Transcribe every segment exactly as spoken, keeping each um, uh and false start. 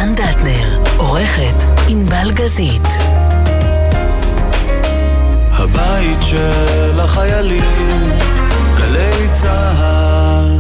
רן דטנר, עורכת ענבל גזית. הבית של החיילים, גלי צהל.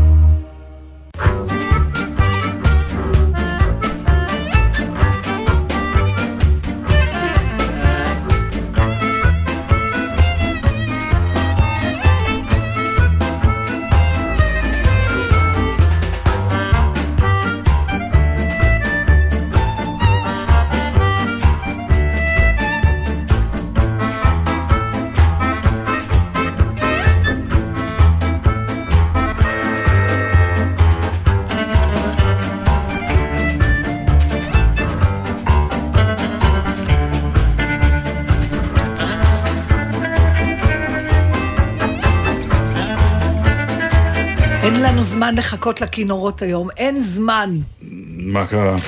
אין לנו זמן לחכות לכינורות היום, אין זמן. מה קרה?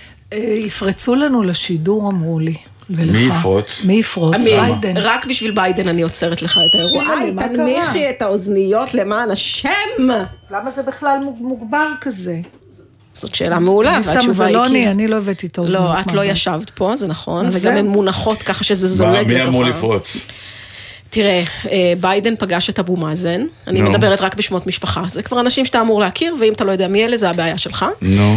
יפרצו לנו לשידור, אמרו לי. מי יפרוץ? מי יפרוץ? ביידן. רק בשביל ביידן אני עוצרת לך את האירוע. איי, תנמיכי את האוזניות למען השם. למה זה בכלל מוגבר כזה? זאת שאלה מעולה, והתשובה היא כי... אני לא הבאתי את האוזניות. לא, את לא ישבת פה, זה נכון, וגם הן מונחות ככה שזה זולג לתוכה. מי אמור לפרוץ? תראה, ביידן פגש את אבו מאזן, אני מדברת רק בשמות משפחה, זה כבר אנשים שאתה אמור להכיר, ואם אתה לא יודע מי אלה, זה הבעיה שלך.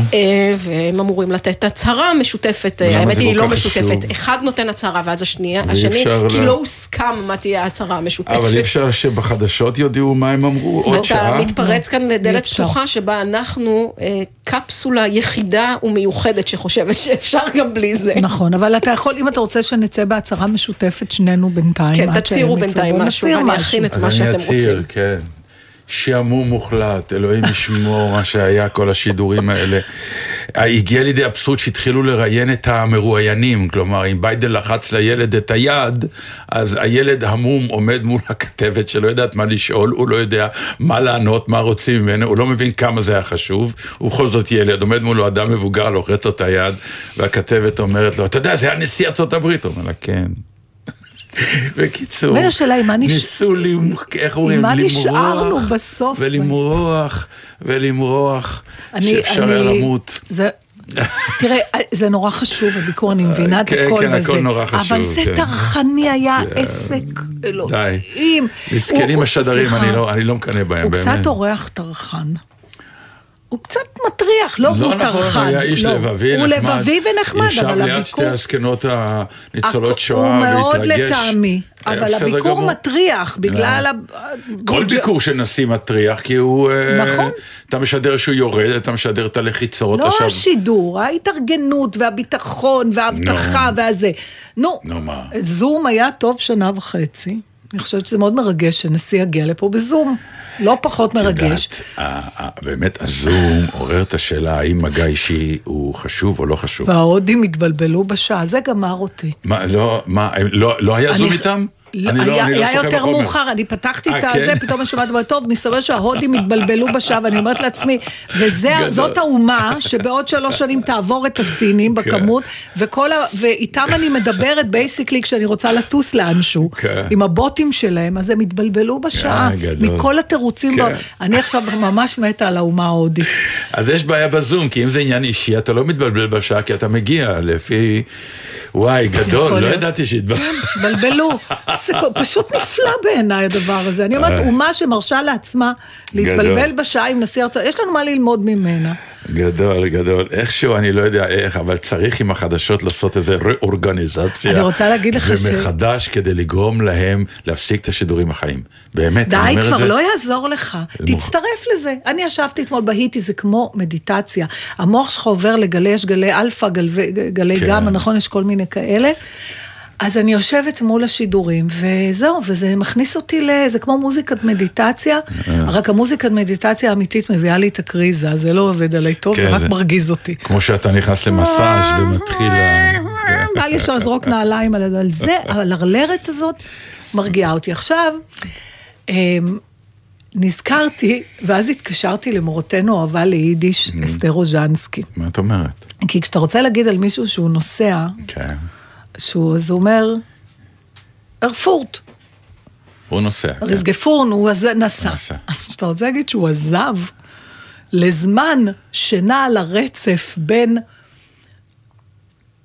והם אמורים לתת הצהרה משותפת, האמת היא לא משותפת, אחד נותן הצהרה, ואז השני, כי לא הוסכם מה תהיה ההצהרה המשותפת. אבל אי אפשר שבחדשות יודעו מה הם אמרו, עוד שעה. אתה מתפרץ כאן לדלת פתוחה, שבה אנחנו קפסולה יחידה ומיוחדת, שחושבת שאפשר גם בלי זה. נכון, אבל אתה יכול, אם אתה רוצה שנצא בהצהרה משותפת, שנינו בינתיים. כן, תצירו בינתיים משהו, ואני אכין את מה שאתם רוצים. אז אני אציר, כן. שעמום מוחלט, אלוהים ישמור מה שהיה כל השידורים האלה. הגיע לידי אבסורד שהתחילו לראיין את המרואיינים, כלומר, אם ביידן לחץ לילד את היד, אז הילד המום עומד מול הכתבת שלא יודעת מה לשאול, הוא לא יודע מה לענות, מה רוצים ממנו, הוא לא מבין כמה זה היה חשוב, ובכל זאת ילד, עומד מולו אדם מבוגר, לוחץ את היד, והכתבת אומרת לו, אתה יודע, זה היה נשיא ארצות הברית, הוא אומר לה, כן. בקיצור, ניסו למרוח ולמרוח ולמרוח שאפשר היה למות. תראה, זה נורא חשוב, הביקור, אני מבינה את הכל בזה, אבל זה תרחני היה עסק אלוהים. מסכנים השדרים, אני לא מקנה בהם. הוא קצת אורח תרחן. הוא קצת מטריח, לא הוא תרחן. הוא היה איש לבבי נחמד. הוא לבבי ונחמד, אבל ישב ליד שתי הזקנות הניצולות שואה, הוא מאוד לטעמי, אבל הביקור מטריח, בגלל... כל ביקור של נשיא מטריח, כי הוא... נכון. אתה משדר שהוא יורד, אתה משדר את הלחיצות. לא השידור, ההתארגנות והביטחון וההבטחה והזה. נו, זום היה טוב שנה וחצי. אני חושבת שזה מאוד מרגש שנשיא יגיע לפה בזום. לא פחות מרגש. באמת, הזום עורר את השאלה, האם מגע אישי הוא חשוב או לא חשוב. וההודים התבלבלו בשעה, זה גמר אותי. מה, לא, מה, לא היה זום איתם? היה יותר מאוחר, אני פתחתי את זה, פתאום אני שומעת טוב, מסתבר שההודים התבלבלו בשעה, ואני אומרת לעצמי, וזאת האומה שבעוד שלוש שנים תעבור את הסינים בכמות, ואיתם אני מדברת בייסיקלי כשאני רוצה לטוס לאנשהו, עם הבוטים שלהם, אז הם התבלבלו בשעה, מכל התירוצים, אני עכשיו ממש מתה על האומה ההודית. אז יש בעיה בזום, כי אם זה עניין אישי, אתה לא מתבלבל בשעה, כי אתה מגיע לפי... וואי, גדול, לא ידעתי שהתבלבלו. זה פשוט נפלא בעיניי הדבר הזה. אני אומרת, אומה שמרשה לעצמה להתבלבל בשעה עם נשיא ארצות, יש לנו מה ללמוד ממנה. גדול, גדול. איכשהו, אני לא יודע איך, אבל צריך עם החדשות לעשות איזו ריאורגניזציה. אני רוצה להגיד לך ש... ומחדש כדי לגרום להם להפסיק את השידורים החיים. באמת, אני אומר את זה. די, כבר לא יעזור לך. תצטרף לזה. אני ישבתי אתמול בהיטי, זה כמו מדיטציה. המוח שלך עובר לגלי, יש גלי אלפא, גלי גמא, נכון? יש כל מיני כאלה. אז אני יושבת מול השידורים, וזהו, וזה מכניס אותי ל... זה כמו מוזיקת מדיטציה, רק המוזיקת מדיטציה האמיתית מביאה לי את הקריזה, זה לא עובד עליי טוב, זה רק מרגיז אותי. כמו שאתה נכנס למסאז' ומתחיל... בא לי אפשר לזרוק נעליים על זה, על הרלרת הזאת מרגיעה אותי. עכשיו, נזכרתי, ואז התקשרתי למורתנו אהבה ליידיש, אסתר רוז'נסקי. מה את אומרת? כי כשאתה רוצה להגיד על מישהו שהוא נוסע... כן. שהוא, אז הוא אומר, ארפורט. הוא נוסע. רסגפורן, הוא נסע. שאתה רוצה להגיד שהוא עזב לזמן שנע על הרצף בין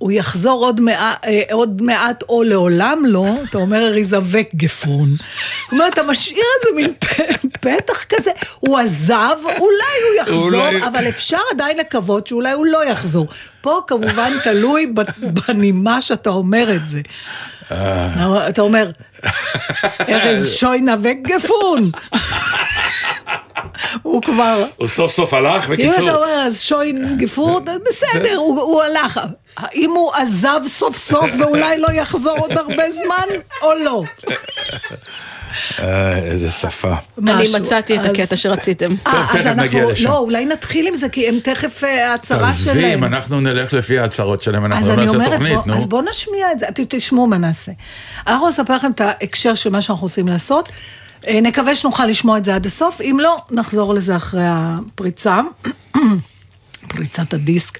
הוא יחזור עוד מעט, עוד מעט או לעולם לא, אתה אומר, ריזווק גפון. זאת אומרת, אתה משאיר איזה מין פתח כזה, הוא עזב, אולי הוא יחזור, אבל אפשר עדיין לקוות שאולי הוא לא יחזור. פה כמובן תלוי בנימה שאתה אומר את זה. אתה אומר, ארז שוי נבק גפון. הוא כבר... הוא סוף סוף הלך, בקיצור. אם אתה אומר, אז שוי גפון, בסדר, הוא הלך. האם הוא עזב סוף סוף ואולי לא יחזור עוד הרבה זמן, או לא? איזה שפה. אני מצאתי את הקטע שרציתם. טוב, תכף נגיע לשם. לא, אולי נתחיל עם זה, כי הם תכף ההצהרה שלהם. תעזבים, אנחנו נלך לפי ההצהרות שלהם, אנחנו נעשה תוכנית, נו. אז בואו נשמיע את זה, תשמעו מה נעשה. אנחנו נספר לכם את ההקשר של מה שאנחנו רוצים לעשות, נקווה שנוכל לשמוע את זה עד הסוף, אם לא, נחזור לזה אחרי הפריצה, פריצת הדיסק.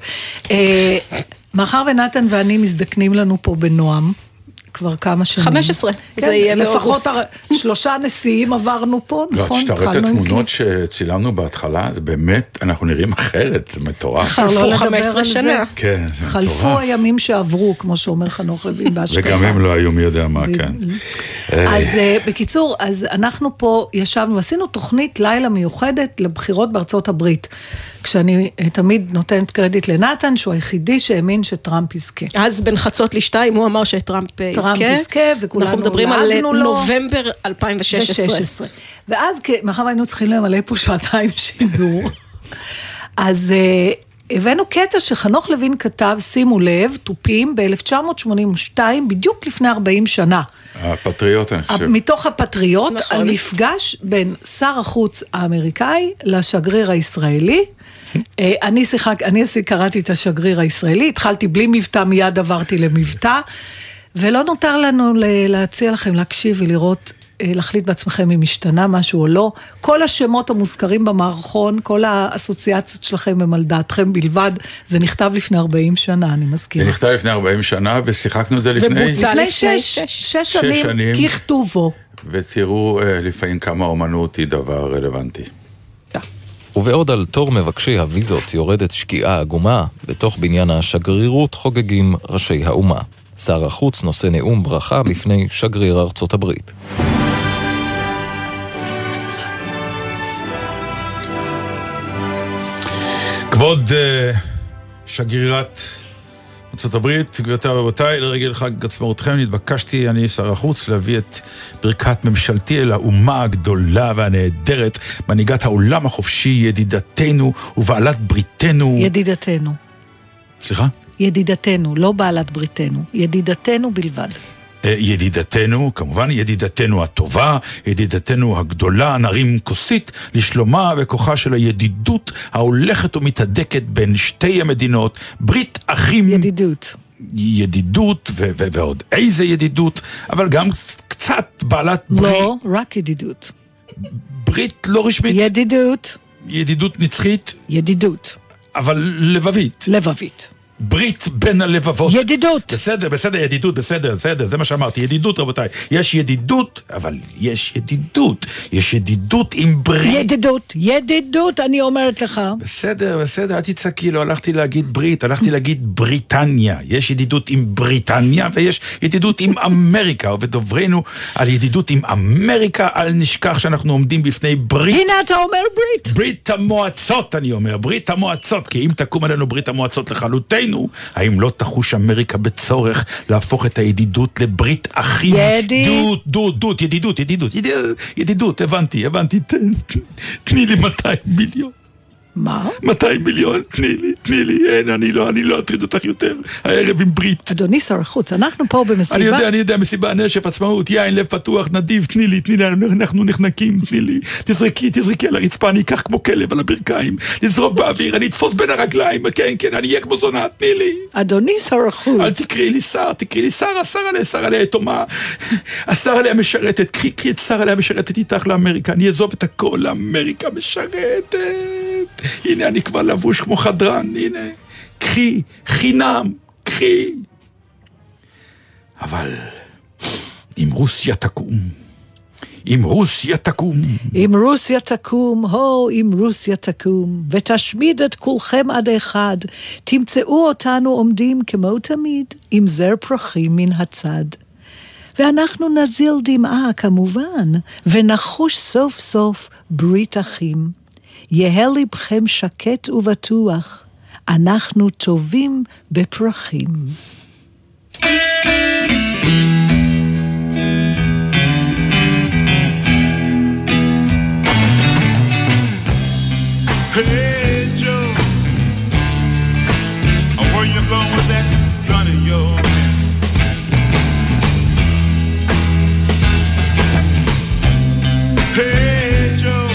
מאחר ונתן ואני מזדקנים לנו פה בנועם, כבר כמה שנים. חמש עשרה, זה יהיה לפחות שלושה נשיאים עברנו פה, נכון? לא, תשתראת את התמונות שצילמנו בהתחלה, זה באמת, אנחנו נראים אחרת, זה מטורף. אפשר לא לדבר על זה. כן, זה מטורף. חלפו הימים שעברו, כמו שאומר חנוך לוין בהשקעה. וגם הם לא היו מי יודע מה, כן. אז בקיצור, אז אנחנו פה ישבנו, עשינו תוכנית לילה מיוחדת לבחירות בארצות הברית. כשאני תמיד נותנת קרדיט לנתן, שהוא היחידי שהאמין שטראמפ יזכה. אז בין חצות לשתיים הוא אמר שטראמפ יזכה. טראמפ יזכה, וכולנו אנחנו מדברים על נובמבר אלפיים ושש עשרה. ואז, מאחר היינו צריכים למלא פה שעתיים שידור, אז הבאנו קטע שחנוך לוין כתב, שימו לב, טופים, ב-אלף תשע מאות שמונים ושתיים, בדיוק לפני ארבעים שנה. הפטריוט, אני חושב. מתוך הפטריוט, על מפגש בין שר החוץ האמריקאי לשגריר הישראלי, אני שיחק, אני קראתי את השגריר הישראלי, התחלתי בלי מבטא, מיד עברתי למבטא, ולא נותר לנו להציע לכם להקשיב ולראות, להחליט בעצמכם אם השתנה משהו או לא. כל השמות המוזכרים במערכון, כל האסוציאציות שלכם הם על דעתכם בלבד, זה נכתב לפני ארבעים שנה, אני מזכירה. זה נכתב לפני ארבעים שנה, ושיחקנו את זה לפני... לפני שש, שש שנים, ככתובו. ותראו לפעמים כמה אומנות היא דבר רלוונטי. ובעוד על תור מבקשי הוויזות יורדת שקיעה עגומה, בתוך בניין השגרירות חוגגים ראשי האומה. שר החוץ נושא נאום ברכה בפני שגריר ארצות הברית. כבוד uh, שגרירת ארצות הברית, גבירותיי ורבותיי, לרגל חג עצמאותכם נתבקשתי, אני שר החוץ, להביא את ברכת ממשלתי אל האומה הגדולה והנהדרת, מנהיגת העולם החופשי, ידידתנו ובעלת בריתנו. ידידתנו. סליחה? ידידתנו, לא בעלת בריתנו, ידידתנו בלבד. ידידתנו, כמובן ידידתנו הטובה, ידידתנו הגדולה, נרים כוסית לשלומה וכוחה של הידידות ההולכת ומתהדקת בין שתי המדינות, ברית אחים. ידידות. ידידות ו- ו- ועוד איזה ידידות, אבל גם קצת בעלת ברית. לא, רק ידידות. ברית לא רשמית. ידידות. ידידות נצחית. ידידות. אבל לבבית. לבבית. ברית בין הלבבות. ידידות. בסדר, בסדר, ידידות, בסדר, בסדר, זה מה שאמרתי, ידידות רבותיי. יש ידידות, אבל יש ידידות. יש ידידות עם ברית. ידידות, ידידות, אני אומרת לך. בסדר, בסדר, אל תצעקי, לא הלכתי להגיד ברית, הלכתי להגיד בריטניה. יש ידידות עם בריטניה, ויש ידידות עם אמריקה, ודוברנו על ידידות עם אמריקה, אל נשכח שאנחנו עומדים בפני ברית. הנה אתה אומר ברית. ברית המועצות, אני אומר, ברית המועצות, כי אם תקום עלינו ברית המועצות לחלוטין, האם לא תחוש אמריקה בצורך להפוך את הידידות לברית אחים? ידידות, דוד, ידידות, ידידות, ידידות, הבנתי, הבנתי, תני לי מאתיים מיליון. מה? מאתיים מיליון, תני לי, תני לי, אין, אני לא, אני לא אטריד אותך יותר, הערב עם ברית. אדוני שר החוץ, אנחנו פה במסיבה. אני יודע, אני יודע, מסיבה, נשף, עצמאות, יין, לב פתוח, נדיב, תני לי, תני לי, אנחנו נחנקים, תני לי, תזרקי, תזרקי על הרצפה, אני אקח כמו כלב על הברכיים, לזרוק באוויר, אני אתפוס בין הרגליים, כן, כן, אני אהיה כמו זונה, תני לי. אדוני שר החוץ. אל תקראי לי שר, תקראי לי שר, השר עליה, שר עליה תומה, השר עליה משרתת, קחי, קחי את שר עליה משרתת איתך לאמריקה, אני אעזוב את הכל, לאמריקה משרתת. הנה אני כבר לבוש כמו חדרן, הנה, קחי, חינם, קחי. אבל אם רוסיה תקום, אם רוסיה תקום. אם רוסיה תקום, הו, אם רוסיה תקום, ותשמיד את כולכם עד אחד, תמצאו אותנו עומדים כמו תמיד, עם זר פרחים מן הצד. ואנחנו נזיל דמעה כמובן, ונחוש סוף סוף ברית אחים. יהיה לבכם שקט ובטוח, אנחנו טובים בפרחים. Hey Joe, where you going with that gun of yours? Hey Joe,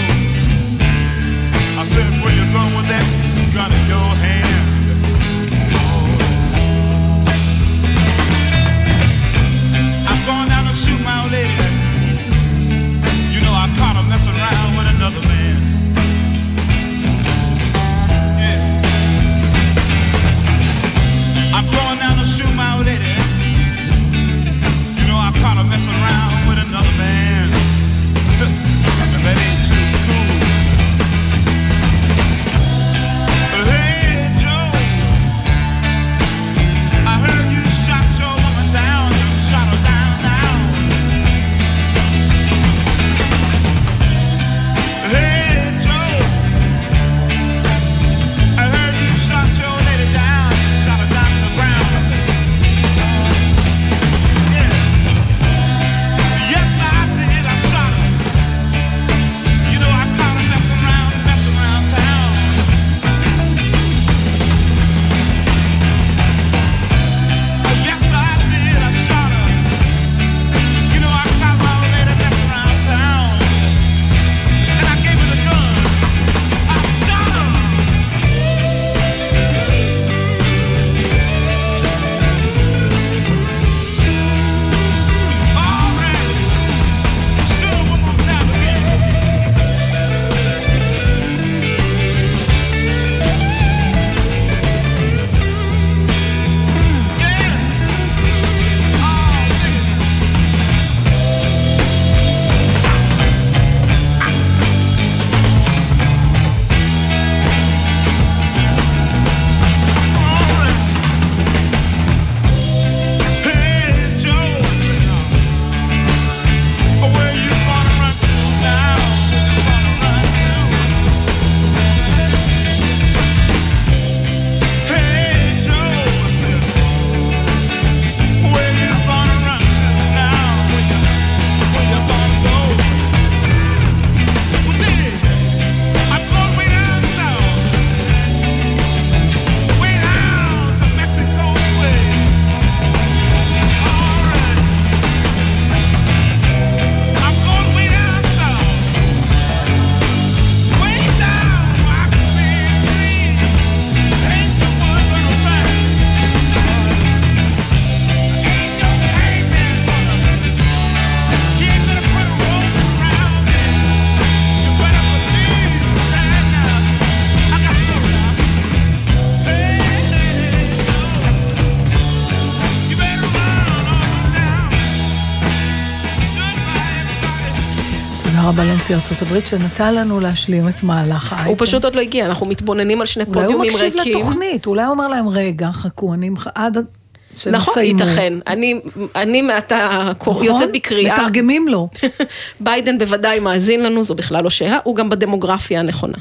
I said where you going with that gun in your hand? I'm going down to shoot my old lady. You know I caught her messing around with another man. I'm going down to shoot my old lady. You know I caught her messing around with another man. And that ain't too cool. But hey Joe, I heard you shot your woman down. You shot her down now. Hey Joe, I heard you shot your lady down. You shot her down to the ground. Yeah. Yes, I did. I shot her. You know I caught her messing around, messing around town. Yes, I did. I shot her. You know I caught my old lady messing around town. And I gave her the gun. I shot her. All right. Shoot her one more time again. Yeah. Oh, dig it. All right. Hey Joe, where you gonna run to now? Where you gonna run to? Hey Joe, where you gonna run to now? Where you, where you gonna go? Well, dig, I'm going way down south, way down to Mexico way. All right. I'm going way down south, way down where I can be free. Ain't no one gonna find me. Ain't no hangman gonna keep it put a rope around me. You better believe that now. I got to go now. Hey, you better run on now. Goodbye, everybody. תודה רבה לנשיא ארצות הברית שנתן לנו להשלים את מהלך האייטם. הוא פשוט עוד לא הגיע, אנחנו מתבוננים על שני פודיומים ריקים. אולי הוא מקשיב לתוכנית, אולי הוא אומר להם רגע, חכו, אני עד שנסיימו. נכון, ייתכן. אני, אני מעתה יוצאת בקריאה. מתרגמים לו. ביידן בוודאי מאזין לנו, זו בכלל לא שאלה, הוא גם בדמוגרפיה הנכונה.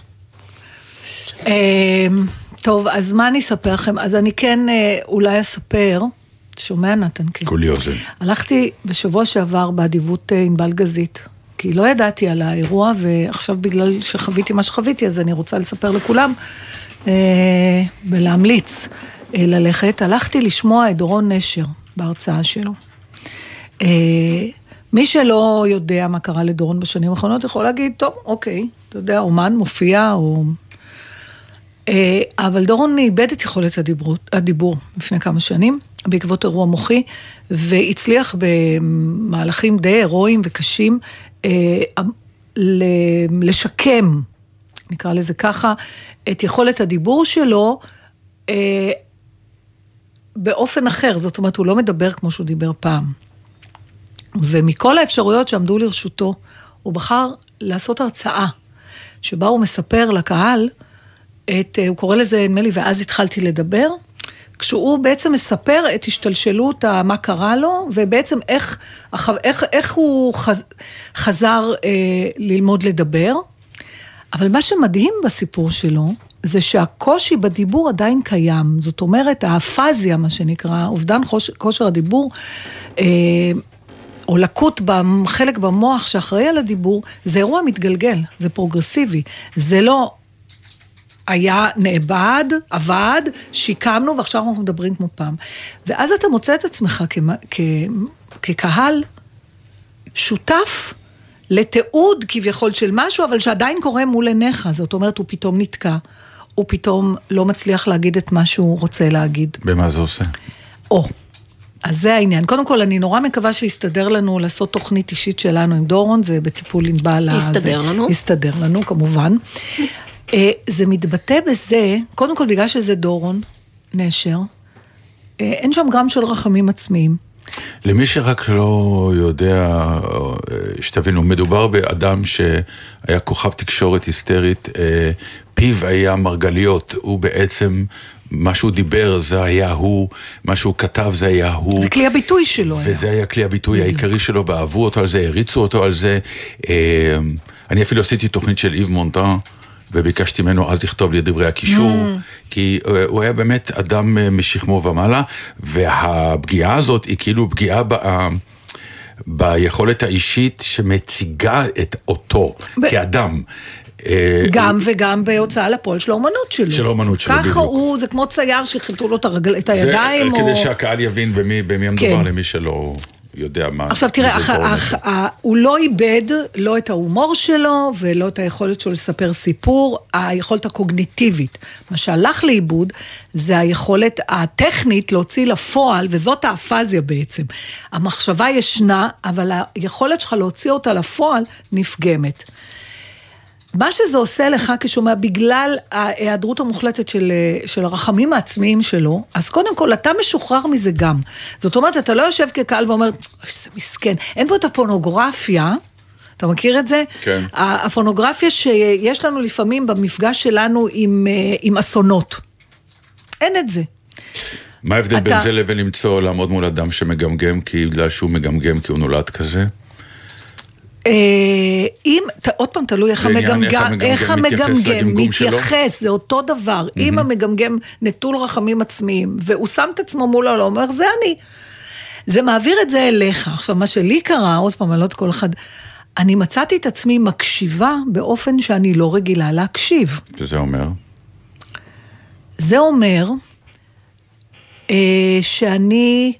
טוב, אז מה אני אספר לכם? אז אני כן אולי אספר, שומע נתן? כן. כולי אוזן. הלכתי בשבוע שעבר באדיבות ענבל גזית, כי לא ידעתי על האירוע, ועכשיו בגלל שחוויתי מה שחוויתי, אז אני רוצה לספר לכולם, ולהמליץ ללכת. הלכתי לשמוע את דורון נשר בהרצאה שלו. מי שלא יודע מה קרה לדורון בשנים האחרונות, יכול להגיד, טוב, אוקיי, אתה יודע, אומן מופיע, או... אבל דורון איבד את יכולת הדיבור, הדיבור לפני כמה שנים, בעקבות אירוע מוחי, והצליח במהלכים די הירואיים וקשים, לשקם, נקרא לזה ככה, את יכולת הדיבור שלו, באופן אחר, זאת אומרת, הוא לא מדבר כמו שהוא דיבר פעם. ומכל האפשרויות שעמדו לרשותו, הוא בחר לעשות הרצאה, שבה הוא מספר לקהל, את, הוא קורא לזה, נדמה לי, ואז התחלתי לדבר, כשהוא בעצם מספר את השתלשלות, מה קרה לו, ובעצם איך, איך, איך הוא חז, חזר אה, ללמוד לדבר. אבל מה שמדהים בסיפור שלו, זה שהקושי בדיבור עדיין קיים. זאת אומרת, האפזיה, מה שנקרא, אובדן כושר הדיבור, אה, או לקות בחלק במוח שאחראי על הדיבור, זה אירוע מתגלגל, זה פרוגרסיבי. זה לא היה נאבד, עבד, שיקמנו, ועכשיו אנחנו מדברים כמו פעם. ואז אתה מוצא את עצמך כ- כ- כקהל שותף לתיעוד כביכול של משהו, אבל שעדיין קורה מול עיניך. זאת אומרת, הוא פתאום נתקע, הוא פתאום לא מצליח להגיד את מה שהוא רוצה להגיד. במה זה עושה? או, אז זה העניין. קודם כל, אני נורא מקווה שיסתדר לנו לעשות תוכנית אישית שלנו עם דורון, זה בטיפול עם בעלה. יסתדר לנו. יסתדר לנו, כמובן. זה מתבטא בזה, קודם כל בגלל שזה דורון, נשר, אין שם גם של רחמים עצמיים. למי שרק לא יודע, שתבינו, מדובר באדם שהיה כוכב תקשורת היסטרית, פיו היה מרגליות, הוא בעצם, מה שהוא דיבר זה היה הוא, מה שהוא כתב זה היה הוא. זה כלי הביטוי שלו. וזה היה, היה כלי הביטוי בדיוק. העיקרי שלו, ואהבו אותו על זה, הריצו אותו על זה. אני אפילו עשיתי תוכנית של איב מונטן, וביקשתי ממנו אז לכתוב לי דברי הקישור, mm. כי הוא היה באמת אדם משכמו ומעלה, והפגיעה הזאת היא כאילו פגיעה ב... ביכולת האישית שמציגה את אותו ב... כאדם. גם וגם בהוצאה לפועל של האומנות שלו. של האומנות שלו, ככה הוא, זה כמו צייר שחיתו לו את, הרגל, את הידיים. זה, או... כדי שהקהל יבין במי, במי המדובר, כן. למי שלא... יודע מה... עכשיו תראה, אח, אח, אח, הוא לא איבד לא את ההומור שלו, ולא את היכולת שלו לספר סיפור, היכולת הקוגניטיבית. מה שהלך לאיבוד, זה היכולת הטכנית להוציא לפועל, וזאת האפזיה בעצם. המחשבה ישנה, אבל היכולת שלך להוציא אותה לפועל נפגמת. מה שזה עושה לך כשומע, בגלל ההיעדרות המוחלטת של, של הרחמים העצמיים שלו, אז קודם כל, אתה משוחרר מזה גם. זאת אומרת, אתה לא יושב כקהל ואומר, זה מסכן, אין פה את הפורנוגרפיה, אתה מכיר את זה? כן. הפורנוגרפיה שיש לנו לפעמים במפגש שלנו עם, עם אסונות. אין את זה. מה ההבדל אתה... בין זה לבין למצוא לעמוד מול אדם שמגמגם, כי בגלל שהוא מגמגם, כי הוא נולד כזה? אם, עוד פעם תלוי איך המגמגם, איך המגמגם מתייחס, זה אותו דבר, אם המגמגם נטול רחמים עצמיים, והוא שם את עצמו מול העולם, הוא אומר, זה אני, זה מעביר את זה אליך. עכשיו, מה שלי קרה, עוד פעם, אני לא את כל אחד, אני מצאתי את עצמי מקשיבה באופן שאני לא רגילה להקשיב. שזה אומר? זה אומר, שאני...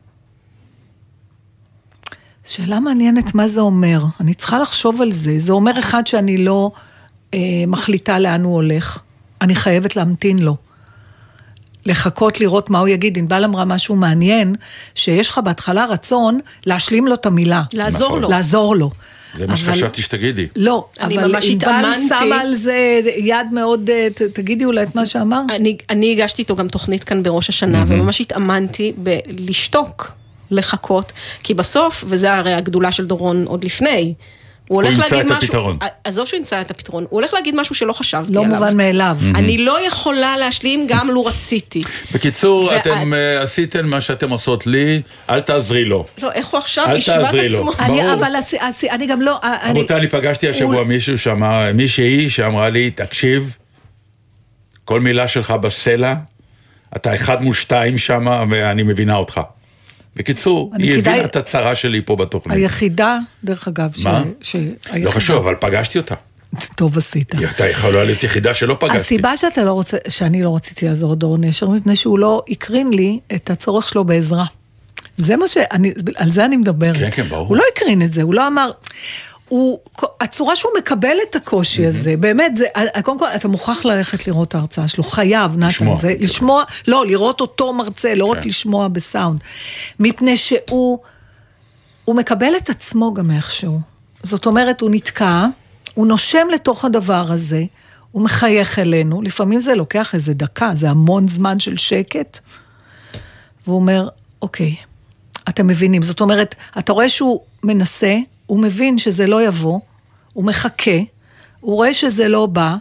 שאלה מעניינת מה זה אומר. אני צריכה לחשוב על זה. זה אומר אחד שאני לא אה, מחליטה לאן הוא הולך. אני חייבת להמתין לו. לחכות לראות מה הוא יגיד. אינבל אמרה משהו מעניין, שיש לך בהתחלה רצון להשלים לו את המילה. לעזור נכון. לו. לעזור לו. זה מה שחשבתי שתגידי. לא, אבל אינבל שמה על זה יד מאוד, ת, תגידי אולי את מה שאמר. אני, אני הגשתי איתו גם תוכנית כאן בראש השנה, mm-hmm. וממש התאמנתי בלשתוק. לחכות, כי בסוף, וזה הרי הגדולה של דורון עוד לפני, הוא הולך להגיד משהו, הפתרון. עזוב שהוא ימצא את הפתרון, הוא הולך להגיד משהו שלא חשבתי לא עליו. לא מובן מאליו. אני לא יכולה להשלים גם לו רציתי. בקיצור, אתם עשיתם מה שאתם עושות לי, אל תעזרי לו. לא, איך הוא עכשיו ישבה את עצמו? אבל אני גם לא... רבותי, אני פגשתי השבוע מישהו שאמר, מישהי שאמרה לי, תקשיב, כל מילה שלך בסלע, אתה אחד מול שתיים שם, ואני מבינה אותך. בקיצור, היא הבינה את הצרה שלי פה בתוכנית. היחידה, דרך אגב, מה? לא חשוב, אבל פגשתי אותה. טוב עשית. אתה יכולה להיות יחידה שלא פגשתי. הסיבה שאתה לא רוצה, שאני לא רציתי לעזור דורון נשר, מפני שהוא לא הקרין לי את הצורך שלו בעזרה. זה מה שאני, על זה אני מדברת. כן, כן, ברור. הוא לא הקרין את זה, הוא לא אמר... הוא, הצורה שהוא מקבל את הקושי הזה, באמת, זה, קודם כל, אתה מוכרח ללכת לראות את ההרצאה שלו, חייב, נתן, זה, לשמוע, לא, לראות אותו מרצה, לא רק לשמוע בסאונד, מפני שהוא, הוא מקבל את עצמו גם איכשהו, זאת אומרת, הוא נתקע, הוא נושם לתוך הדבר הזה, הוא מחייך אלינו, לפעמים זה לוקח איזה דקה, זה המון זמן של שקט, והוא אומר, אוקיי, אתם מבינים, זאת אומרת, אתה רואה שהוא מנסה, הוא מבין שזה לא יבוא, הוא מחכה, הוא רואה שזה לא בא,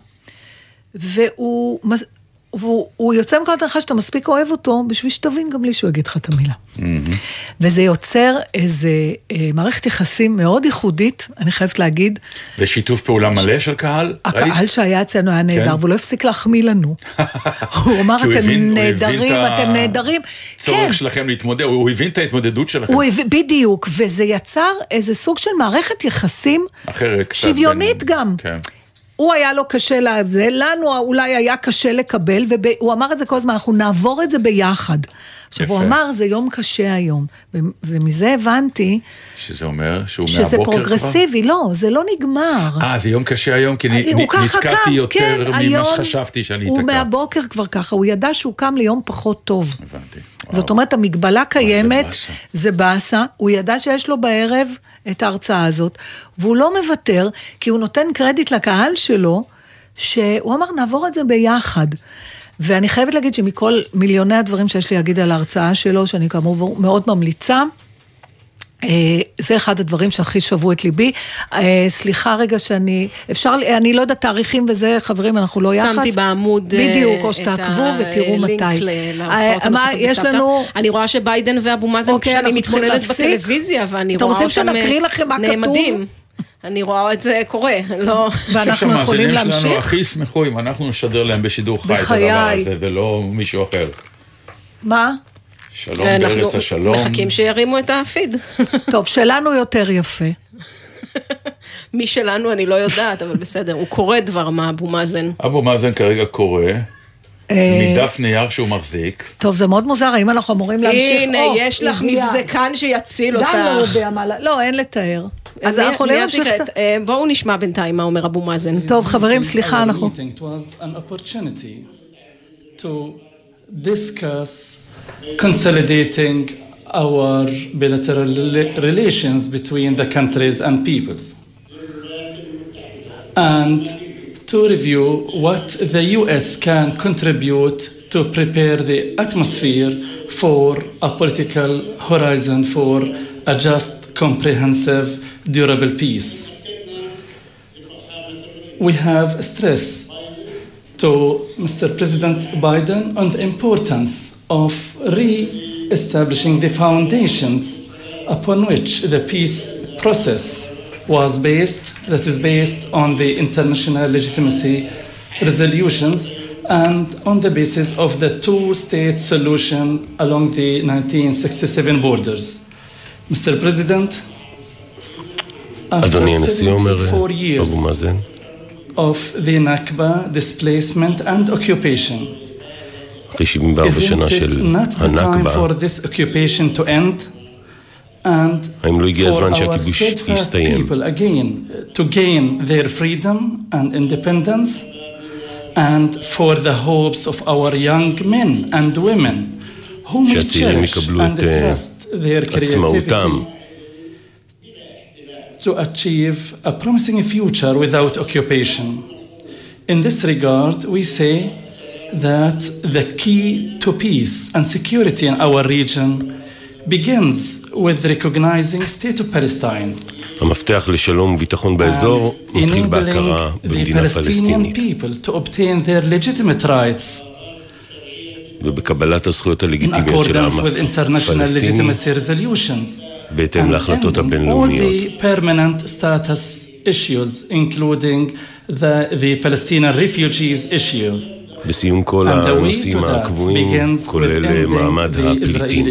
והוא, והוא, הוא יוצא מקודם לך שאתה מספיק אוהב אותו, בשביל שתבין גם לי שהוא יגיד לך את המילה. Mm-hmm. וזה יוצר איזה אה, מערכת יחסים מאוד ייחודית, אני חייבת להגיד. ושיתוף פעולה מלא של קהל? הקהל ראית? שהיה אצלנו היה נהדר, כן? והוא לא הפסיק להחמיא לנו. הוא אמר, אתם הבין, נהדרים, אתם ה... נהדרים. צורך כן. שלכם להתמודד, הוא הבין את ההתמודדות שלכם. הוא הבין, בדיוק, וזה יצר איזה סוג של מערכת יחסים, אחרת, שוויונית בין... גם. כן. הוא היה לו קשה לזה, לנו אולי היה קשה לקבל, והוא אמר את זה כל הזמן, אנחנו נעבור את זה ביחד. עכשיו הוא אמר, זה יום קשה היום, ומזה הבנתי, שזה אומר שהוא מהבוקר כבר? שזה פרוגרסיבי, לא, זה לא נגמר. אה, זה יום קשה היום, כי נתקעתי יותר ממה שחשבתי שאני אתקע. הוא מהבוקר כבר ככה, הוא ידע שהוא קם ליום פחות טוב. הבנתי. זאת אומרת, המגבלה קיימת, זה באסה, הוא ידע שיש לו בערב את ההרצאה הזאת, והוא לא מוותר, כי הוא נותן קרדיט לקהל שלו, שהוא אמר, נעבור את זה ביחד. ואני חייבת להגיד שמכל מיליוני הדברים שיש לי להגיד על ההרצאה שלו, שאני כאמור מאוד ממליצה, זה אחד הדברים שהכי שבו את ליבי. סליחה רגע שאני, אפשר, אני לא יודעת תאריכים וזה, חברים, אנחנו לא יחד. שמתי בעמוד בדיוק, או שתעקבו ותראו מתי. מה, יש לנו... אני רואה שביידן ואבו מאזן שאני מתחוללת בטלוויזיה, ואני רואה אותם נעמדים. אני רואה את זה קורה, לא... ואנחנו יכולים להמשיך. שלנו הכי ישמחו אם אנחנו נשדר להם בשידור חי את הדבר הזה, ולא מישהו אחר. מה? שלום בארץ השלום. אנחנו מחכים שירימו את הפיד. טוב, שלנו יותר יפה. מי שלנו אני לא יודעת, אבל בסדר, הוא קורא דבר מה, אבו מאזן. אבו מאזן כרגע קורא, מדף נייר שהוא מחזיק. טוב, זה מאוד מוזר, האם אנחנו אמורים להמשיך? הנה, יש לך מבזקן שיציל אותך. דם לא יודע מה, לא, אין לתאר. אז אנחנו יכולים להמשיך את... בואו נשמע בינתיים מה אומר אבו מאזן. טוב, חברים, סליחה, אנחנו... consolidating our bilateral relations between the countries and peoples, and to review what the U S can contribute to prepare the atmosphere for a political horizon for a just, comprehensive, durable peace. We have stressed to Mister President Biden on the importance of re-establishing the foundations upon which the peace process was based, that is based on the international legitimacy resolutions and on the basis of the two-state solution along the nineteen sixty-seven borders. Mister President, after seventy-four years of the Nakba displacement and occupation, אחרי שבעים וארבע שנה של הנכבה, האם לא הגיע הזמן שהכיבוש יסתיים? To gain their freedom and independence, and for the hopes of our young men and women who may cherish and trust their creativity to achieve a promising future without occupation. In this regard, we say that the key to peace and security in our region begins with recognizing state of Palestine. המפתח לשלום וביטחון באזור מתחיל בהכרה במדינה פלסטינית. To obtain their legitimate rights. ובקבלת הזכויות הלגיטימיות של העם הפלסטיני בהתאם להחלטות הבינלאומיות. All the permanent status issues, including the, the Palestinian refugees issue. בסיום כל הנושאים הקבועים, כולל מעמד הפליטים.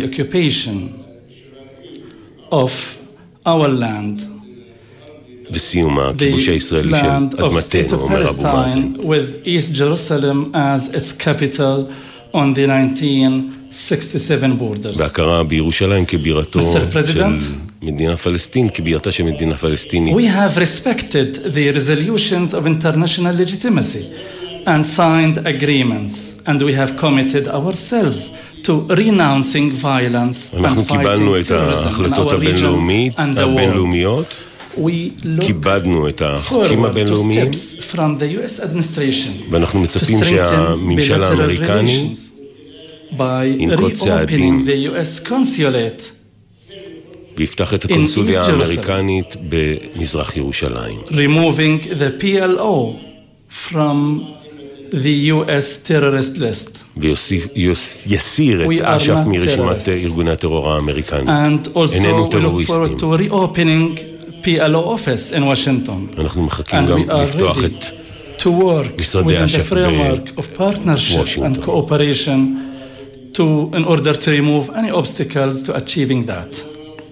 בסיום הכיבוש הישראלי של אדמתנו, אומר אבו מאזן. With East Jerusalem as its capital on the nineteen sixty-seven borders. בהכרה בירושלים כבירתו של מדינה פלסטין, כבירתה של מדינה פלסטינית. We have respected the resolutions of international legitimacy and signed agreements, and we have committed ourselves to renouncing violence and fighting terrorism in our region and the world. We look forward to steps from the U S administration ואנחנו מצפים שהממשל האמריקני by reopening the U S consulate ויפתח את הקונסוליה האמריקנית במזרח ירושלים. Removing the P L O from the U S terrorist list. ויסיר את אש"ף מרשימת ארגוני הטרור האמריקנית. איננו טרוריסטים. P L O office in Washington. אנחנו מחכים גם לפתוח את משרדי אש"ף בוושינגטון. and cooperation to in order to remove any obstacles to achieving that.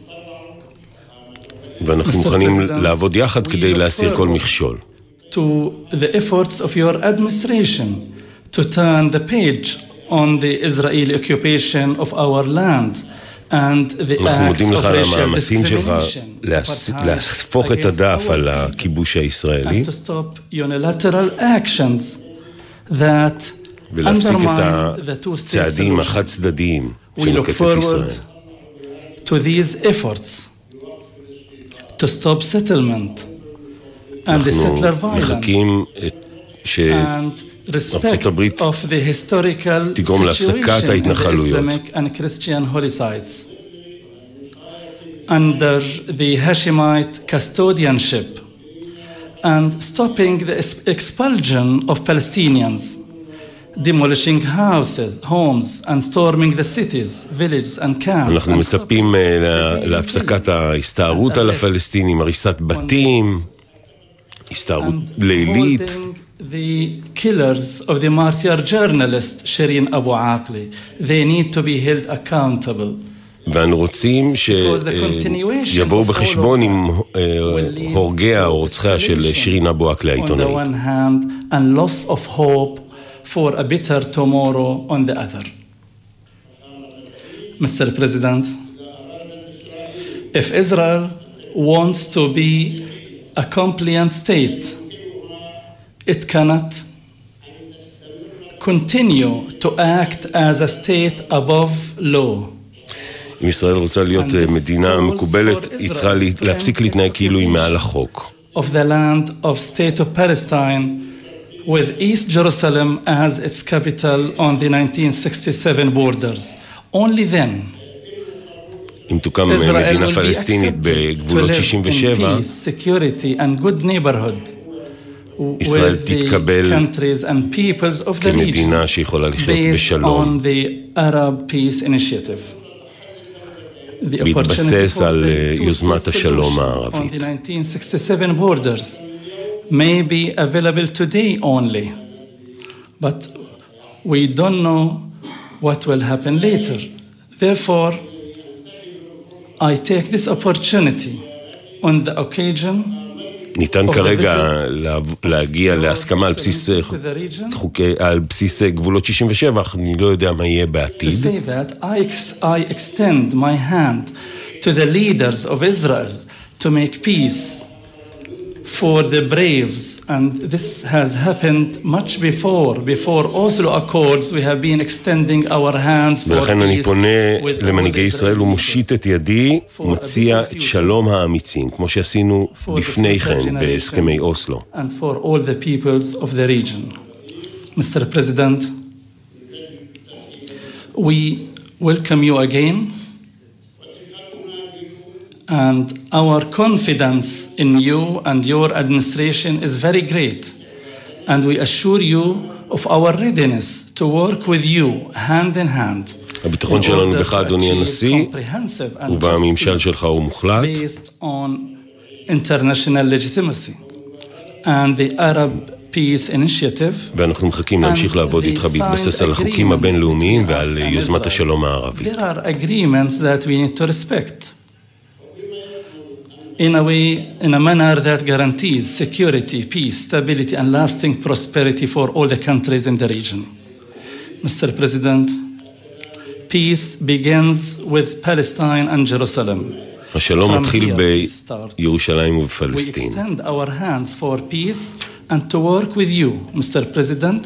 ואנחנו מוכנים לעבוד יחד כדי להסיר כל מכשול. To the efforts of your administration to turn the page on the Israeli occupation of our land and the acts of racial discrimination. להפוך את הדף על הכיבוש הישראלי. And to stop unilateral actions that ולהפסיק את הצעדים החד צדדיים שנוקטת ישראל. To these efforts to stop settlement and the settler violence and respect of the historical situation in the Islamic and Christian holy sites. Under the Hashemite custodianship and stopping the expulsion of Palestinians, demolishing houses, homes and storming the cities, villages and camps. אנחנו מצפים להפסקת ההסתערות על הפלסטינים, הריסת בתים, הסתערות לילית. The killers of the martyr journalist Shireen Abu Akleh, they need to be held accountable. ואנו רוצים שיבואו בחשבון עם הורגיה או רוצחיה של שירין אבו עקלה העיתונאית. On the one hand, and loss of hope for a better tomorrow on the other. Mister President, if Israel wants to be a compliant state, it cannot continue to act as a state above law. אם ישראל רוצה להיות מדינה מקובלת, היא צריכה להפסיק להתנהג כאילו היא מעל החוק. Of the land of state of Palestine, with East Jerusalem as its capital on the nineteen sixty-seven borders. Only then אם תוקם מדינה פלסטינית בגבולות שישים ושבע, ישראל תתקבל כמדינה שיכולה לחיות בשלום, בהתבסס על יוזמת השלום הערבית. may be available today only, but we don't know what will happen later. Therefore, I take this opportunity on the occasion ניתן כרגע להגיע להסכמה על בסיס חוקי, על בסיס גבולות שישים ושבע, אני לא יודע מה יהיה בעתיד. To say that I, I extend my hand to the leaders of Israel to make peace for the braves, and this has happened much before, before Oslo Accords, we have been extending our hands for ולכן אני פונה למנהיגי ישראל ומושיט את ידי ומציע את שלום האמיצים, כמו שעשינו לפני כן בהסכמי אוסלו. And for all the peoples of the region. Mister President, we welcome you again. And our confidence in you and your administration is very great. And we assure you of our readiness to work with you hand in hand. הביטחון שלנו בך, אדוני הנשיא, ובממשל שלך הוא מוחלט. Based on international legitimacy and the Arab Peace Initiative. ואנחנו מחכים להמשיך לעבוד איתך בהתבסס על החוקים הבינלאומיים ועל יוזמת השלום הערבית. There are agreements that we need to respect. In a way, in a manner that guarantees security, peace, stability, and lasting prosperity for all the countries in the region. Mister President, peace begins with Palestine and Jerusalem. השלום מתחיל בירושלים ובפלסטין. We extend our hands for peace and to work with you, Mister President,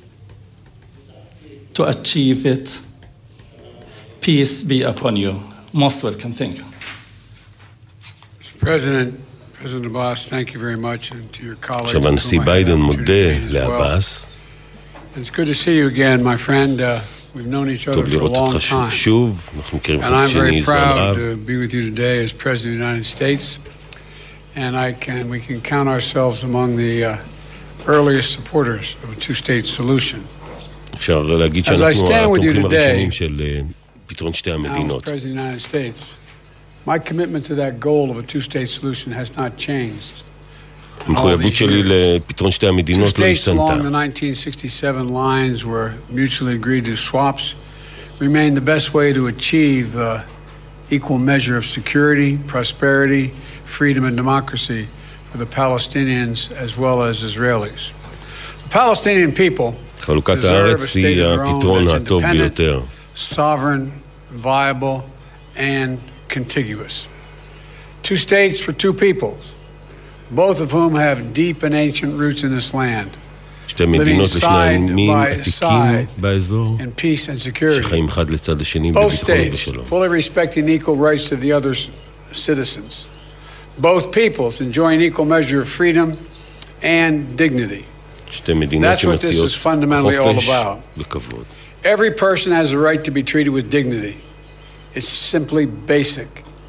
to achieve it. Peace be upon you. Most welcome. Thank you. President, President Abbas, thank you very much, and to your colleagues. עכשיו הנשיא ביידן מודה לעבאס. It's good to see you again, my friend. We've known each other טוב for a לראות long אותך time. שוב, אנחנו מכירים And אחד I'm שני very זמן רב. proud to be with you today as President of the United States. And I can, we can count ourselves among the uh, earliest supporters of a two-state solution. אפשר להגיד As I שאנחנו stand with you התומכים today, הראשונים של אה, פתרון שתי now as המדינות. President of the United States, my commitment to that goal of a two-state solution has not changed. המחויבות שלי לפתרון שתי Two המדינות לא states along השתנתה. the nineteen sixty-seven lines were mutually agreed to swaps remain the best way to achieve uh, equal measure of security, prosperity, freedom, and democracy for the Palestinians as well as Israelis. The Palestinian people חלוקת deserve a הארץ state היא of their own הפתרון that's הטוב independent, ביותר. sovereign, viable, and contiguous. Two states for two peoples, both of whom have deep and ancient roots in this land, שתי living מדינות לשני side עמים by עתיקים side באזור, in peace and security. שחיים אחד לצד השני Both בביטחון states ובשלום. fully respecting equal rights of the other citizens. Both peoples enjoying equal measure of freedom and dignity. שתי מדינות That's what this שמציעות is fundamentally all חופש about. וכבוד. Every person has a right to be treated with dignity. It's simply basic.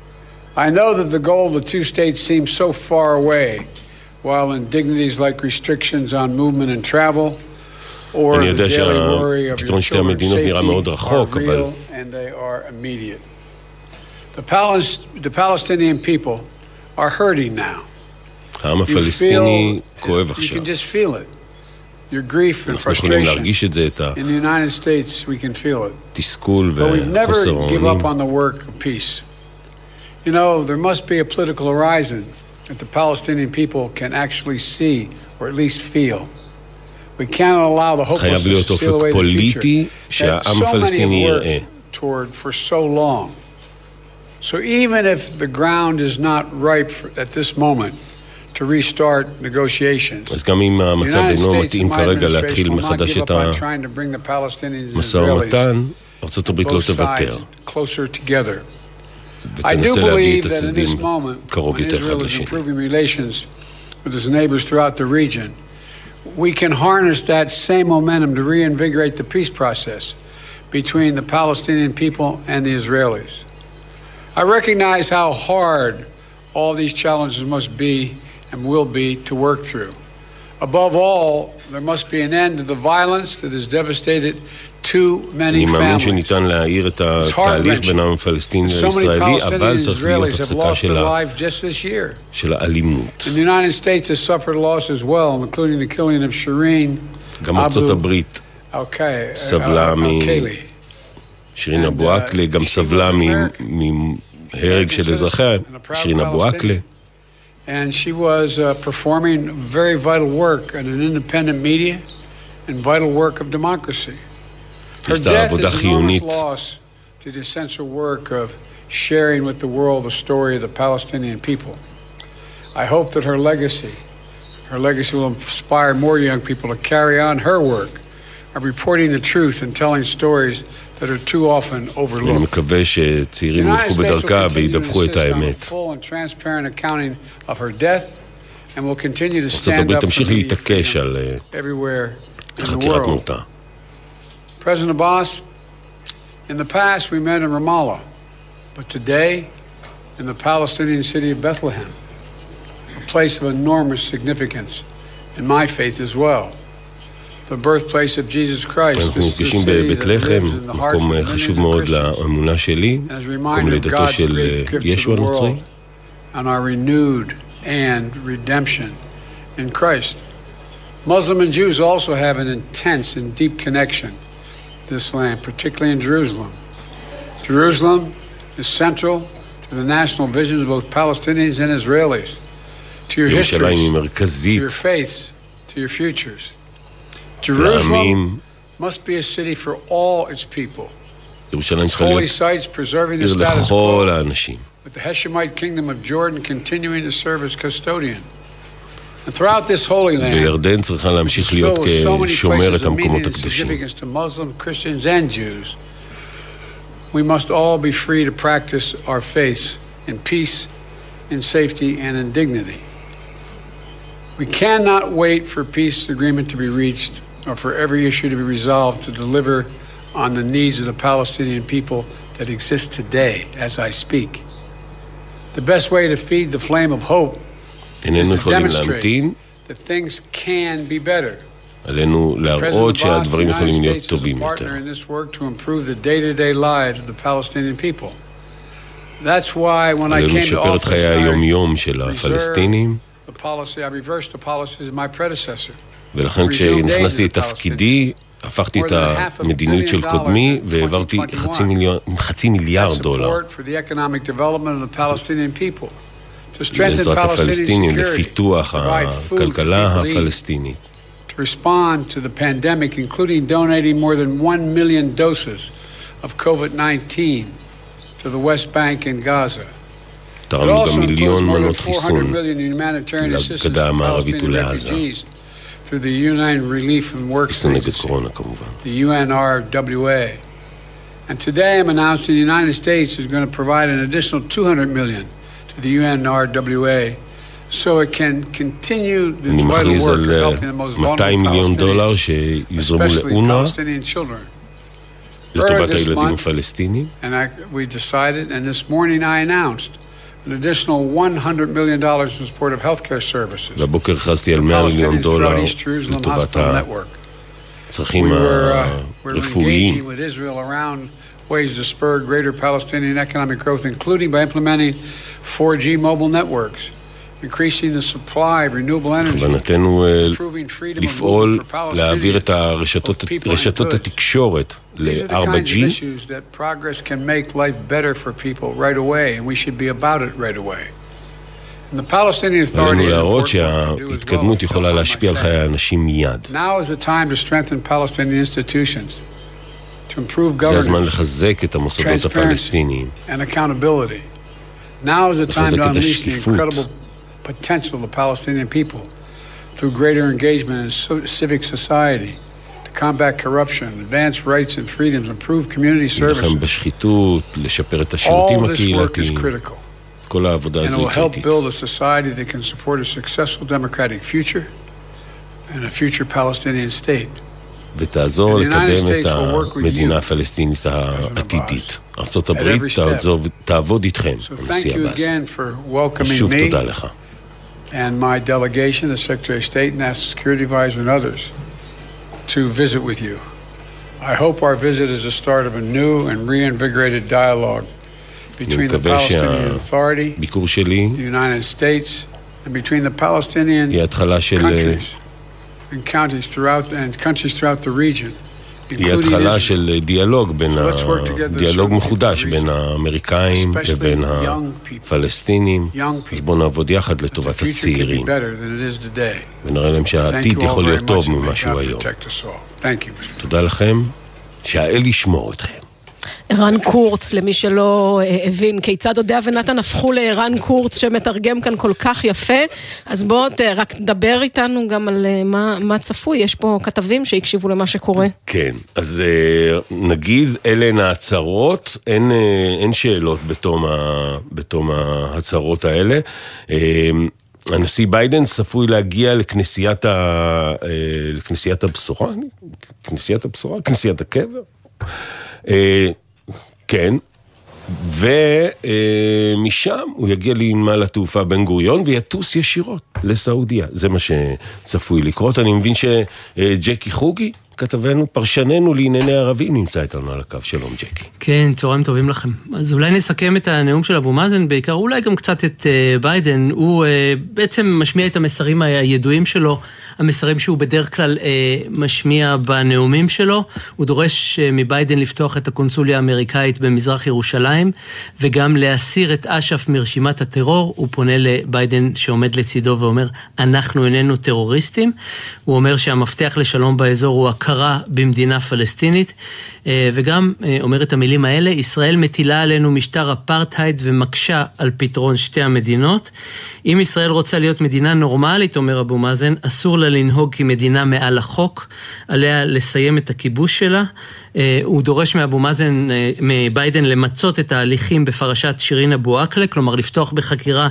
I know that the goal of the two states seems so far away, while indignities like restrictions on movement and travel or אני the יודע daily worry of your שהפתרון שתי children's המדינות נראה מאוד safety are רחוק, אבל real and they are immediate. The, Palis- the Palestinian people are hurting now. העם You הפלסטיני feel, כואב you עכשיו. can just feel it. Your grief and אנחנו יכולים frustration. להרגיש את זה, את In the United States, we can feel it. התסכול But we've never וחוסר give up האונים. on the work of peace. You know, there must be a political horizon that the Palestinian people can actually see or at least feel. We cannot allow the חייב להיות hopelessness to steal אופק away the פוליטי future that שהעם so many הפלסטיני have יראה. worked toward for so long. So even if the ground is not ripe for, at this moment to restart negotiations, אז גם אם the המצב United אינו States מתאים and my כרגע administration להתחיל will not מחדש give את up on trying to bring the Palestinians and המשא Israelis ומתן, ארצות הברית לא both תוותר, sides closer together. I do ותנסה להביא believe את that in this הצדדים moment, קרוב when יותר אחד Israel is לשני. improving relations with its neighbors throughout the region, we can harness that same momentum to reinvigorate the peace process between the Palestinian people and the Israelis. I recognize how hard all these challenges must be and will be to work through. Above all, there must be an end to the violence that has devastated too many אני מאמין families. שניתן להעיר את התהליך בין העם הפלסטיני So many לישראלי, אבל Palestinians and צריך להיות Israelis have הפסקה lost של their ה- lives just this year. של האלימות. And the United States has suffered loss as well, including the killing of Shireen גם ארצות Abu הברית Al-Kay- סבלה מ- Al-Kayli. שירין And, אבו uh, עקלה גם she סבלה was מ- American. מהרג של אזרחיה, שירין אבו עקלה. And she was uh, performing very vital work in an independent media and vital work of democracy. Her עשתה death עבודה is enormous חיונית. loss to the essential work of sharing with the world the story of the Palestinian people. I hope that her legacy, her legacy will inspire more young people to carry on her work of reporting the truth and telling stories that are too often אני overlooked. מקווה שצעירים The United ילכו States will בדרכה continue to וידווחו את insist on a האמת. full and transparent accounting of her death, and will continue to ארצות stand הברית up for תמשיך media להתעקש freedom על אה, everywhere in the חקירת world. מותה. President Abbas, in the past we met in Ramallah, but today in the Palestinian city of Bethlehem, a place of enormous significance in my faith as well. The birthplace of Jesus Christ. אנחנו This is the נפגשים city that בבית lives לחם, in the hearts of מקום millions חשוב of מאוד Christians. לאמונה שלי, And as a מקום reminder of לידתו God's של great gift to ישו the הנוצרי. world and our renewed and redemption in Christ. Muslim and Jews also have an intense and deep connection to this land, particularly in Jerusalem. Jerusalem is central to the national visions of both Palestinians and Israelis, to your ירושלים היא histories, to מרכזית your faiths, to your futures. Jerusalem לעמים. must be a city for all its people. ירושלים צריכה Holy להיות sites preserving the עיר status לכל quo, האנשים. with the Heshemite kingdom of Jordan continuing to serve as custodian. And throughout this holy land, וירדן צריכה להמשיך להיות filled with so many כשומרת places of meaning המקומות and הקדושים. significance to Muslims, Christians, and Jews, we must all be free to practice our faiths in peace, in safety, and in dignity. We cannot wait for peace agreement to be reached or for every issue to be resolved to deliver on the needs of the Palestinian people that exist today as I speak. The best way to feed the flame of hope is to demonstrate that things can be better. עלינו להראות שהדברים יכולים להיות טובים יותר. עלינו לשפר את חיי היום-יום של הפלסטינים, ולכן כשנכנסתי לתפקידי, הפכתי את המדיניות של קודמי והעברתי חצי מיליארד דולר לעזרת הפלסטינים, לפיתוח הכלכלה הפלסטינית. To respond to the pandemic, including donating more than one million doses of COVID nineteen to the West Bank and Gaza. It also includes more than four hundred million in humanitarian assistance to Palestinian refugees through the U N Relief and Work Agency, the U N R W A. And today I'm announcing the United States is going to provide an additional two hundred million to the U N R W A so it can continue this vital work of helping the most vulnerable Palestinians, especially Palestinian children. Earlier this month, and I, we decided, and this morning I announced, an additional one hundred million dollars in support of healthcare services for Palestinians throughout East Jerusalem Hospital Network. We were, uh, we're engaging with Israel around ways to spur greater Palestinian economic growth, including by implementing four G mobile networks, increasing the supply of renewable energy, improving freedom of movement for Palestinians, both people and goods. These are the kinds of issues that progress can make life better for people right away, and we should be about it right away. And the Palestinian Authority is important to do as well. Now is the time to strengthen Palestinian institutions, to improve governance, transparency, and accountability. Now is the time to unleash the incredible potential of the Palestinian people through greater engagement in so- civic society, to combat corruption, advance rights and freedoms, improve community services. All this work is critical, and it will help build a society that can support a successful democratic future and a future Palestinian state. ותעזור לקדם את המדינה הפלסטינית העתידית. ארצות הברית תעבוד איתכם, הנשיא עבאס. שוב תודה לך. And my delegation, the Secretary of State, National Security Advisor, and others, to visit with you. I hope our visit is the start of a new and reinvigorated dialogue between the Palestinian Authority, the United States, and between the Palestinian countries and counties throughout and countries throughout the region. היא התחלה של דיאלוג, בין דיאלוג מחודש בין האמריקאים לבין הפלסטינים. אז בואו נעבוד יחד לטובת הצעירים ונראה להם שהעתיד יכול להיות טוב ממה שהוא היום. תודה לכם, שהאל ישמור אתכם. ערן קורץ, למי שלא הבין כיצד אודיה ונתן הפכו לערן קורץ שמתרגם כאן כל כך יפה, אז בוא רק דבר איתנו גם על מה, מה צפוי, יש פה כתבים שהקשיבו למה שקורה. כן, אז נגיד אלה הן ההצהרות, אין, אין שאלות בתום, ה, בתום ההצהרות האלה. הנשיא ביידן צפוי להגיע לכנסיית, ה, לכנסיית הבשורה, כנסיית הבשורה, כנסיית הקבר. כן, ומשם הוא יגיע לנמל התעופה בן גוריון ויטוס ישירות לסעודיה. זה מה שצפוי לקרות. אני מבין שג'קי חוגי, כתבנו, פרשננו לענייני ערבים, נמצא איתנו על הקו. שלום ג'קי. כן, צהריים טובים לכם. אז אולי נסכם את הנאום של אבו מאזן, בעיקר אולי גם קצת את ביידן. הוא בעצם משמיע את המסרים הידועים שלו, המסרים שהוא בדרך כלל משמיע בנאומים שלו. הוא דורש מביידן לפתוח את הקונסוליה האמריקאית במזרח ירושלים, וגם להסיר את אש"ף מרשימת הטרור. הוא פונה לביידן שעומד לצידו ואומר, אנחנו איננו טרוריסטים. הוא אומר שהמפתח לשלום באזור הוא הכרה במדינה פלסטינית, וגם אומר את המילים האלה, ישראל מטילה עלינו משטר אפרטהייד ומקשה על פתרון שתי המדינות. אם ישראל רוצה להיות מדינה נורמלית, אומר אבו מאזן, אסור לה לנהוג כמדינה מעל החוק, עליה לסיים את הכיבוש שלה, הוא דורש מאבו מאזן, מביידן, למצות את ההליכים בפרשת שירין אבו עקלה, כלומר לפתוח בחקירה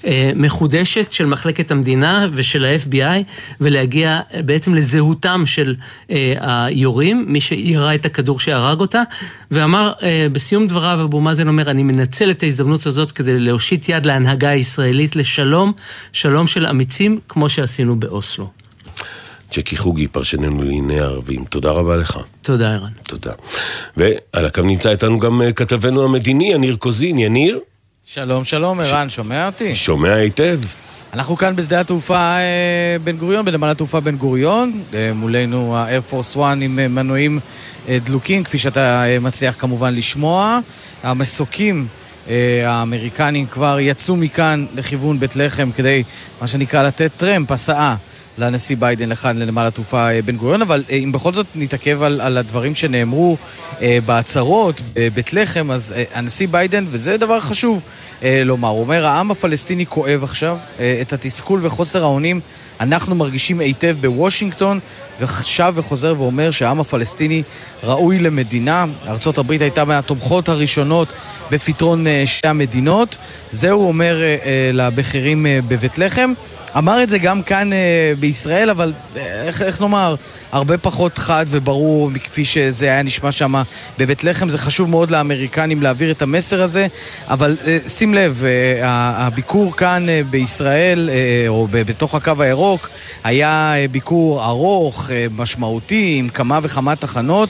מחודשת של מחלקת המדינה ושל ה-אף בי איי, ולהגיע בעצם לזהותם של היורים, מי שירה את הכדור שהרג אותה, ואמר בסיום דבריו, אבו מאזן אומר, אני מנצל את ההזדמנות הזאת כדי להושיט יד להנהגה הישראלית לשלום, שלום של אמיצים, כמו שעשינו באוסלו. ג'קי חוגי, פרשננו לענייני ערבים, תודה רבה לך. תודה, ערן. תודה. ועל הקו נמצא איתנו גם כתבנו המדיני, יניר קוזין. יניר? שלום, שלום, ערן, שומע אותי? שומע היטב. אנחנו כאן בשדה התעופה בן גוריון, בנמל התעופה בן גוריון, מולנו ה-Air Force One עם מנועים דלוקים, כפי שאתה מצליח כמובן לשמוע. המסוקים האמריקנים כבר יצאו מכאן לכיוון בית לחם כדי, מה שנקרא, לתת טרמפ, הסעה לנשיא ביידן לכאן לנמל התעופה בן גוריון, אבל אם בכל זאת נתעכב על, על הדברים שנאמרו בהצהרות בבית לחם, אז הנשיא ביידן, וזה דבר חשוב לומר, הוא אומר, העם הפלסטיני כואב עכשיו את התסכול וחוסר האונים, אנחנו מרגישים היטב בוושינגטון, ושב וחוזר ואומר שהעם הפלסטיני ראוי למדינה. ארצות הברית הייתה מהתומכות הראשונות בפתרון שתי המדינות. זהו אומר לבחירים בבית לחם. אמר את זה גם כאן בישראל, אבל איך, איך נאמר, הרבה פחות חד וברור מכפי שזה היה נשמע שם בבית לחם. זה חשוב מאוד לאמריקנים להעביר את המסר הזה, אבל שים לב, הביקור כאן בישראל, או בתוך הקו הירוק, היה ביקור ארוך, משמעותי, עם כמה וכמה תחנות.